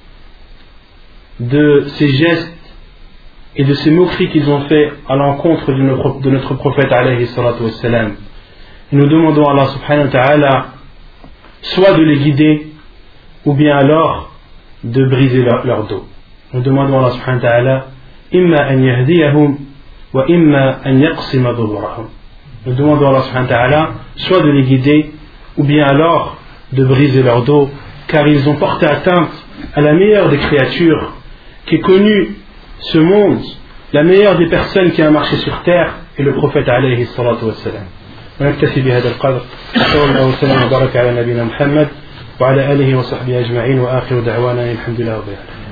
de ces gestes et de ces moqueries qu'ils ont fait à l'encontre de notre prophète alayhi salatu wassalam. Nous demandons à Allah subhanahu wa ta'ala soit de les guider ou bien alors de briser leur dos. Nous demandons à Allah subhanahu wa ta'ala imma an yahdiyahum wa imma an yaqsima dhuhurahum. Nous demandons à Allah subhanahu wa ta'ala soit de les guider ou bien alors de briser leur dos, car ils ont porté atteinte à la meilleure des créatures qui est connue ce monde, la meilleure des personnes qui a marché sur terre est le prophète alayhi salatu wassalam. ونكتفي بهذا القدر صلى الله وسلم وبارك على نبينا محمد وعلى آله وصحبه أجمعين وآخر دعوانا الحمد لله رب العالمين.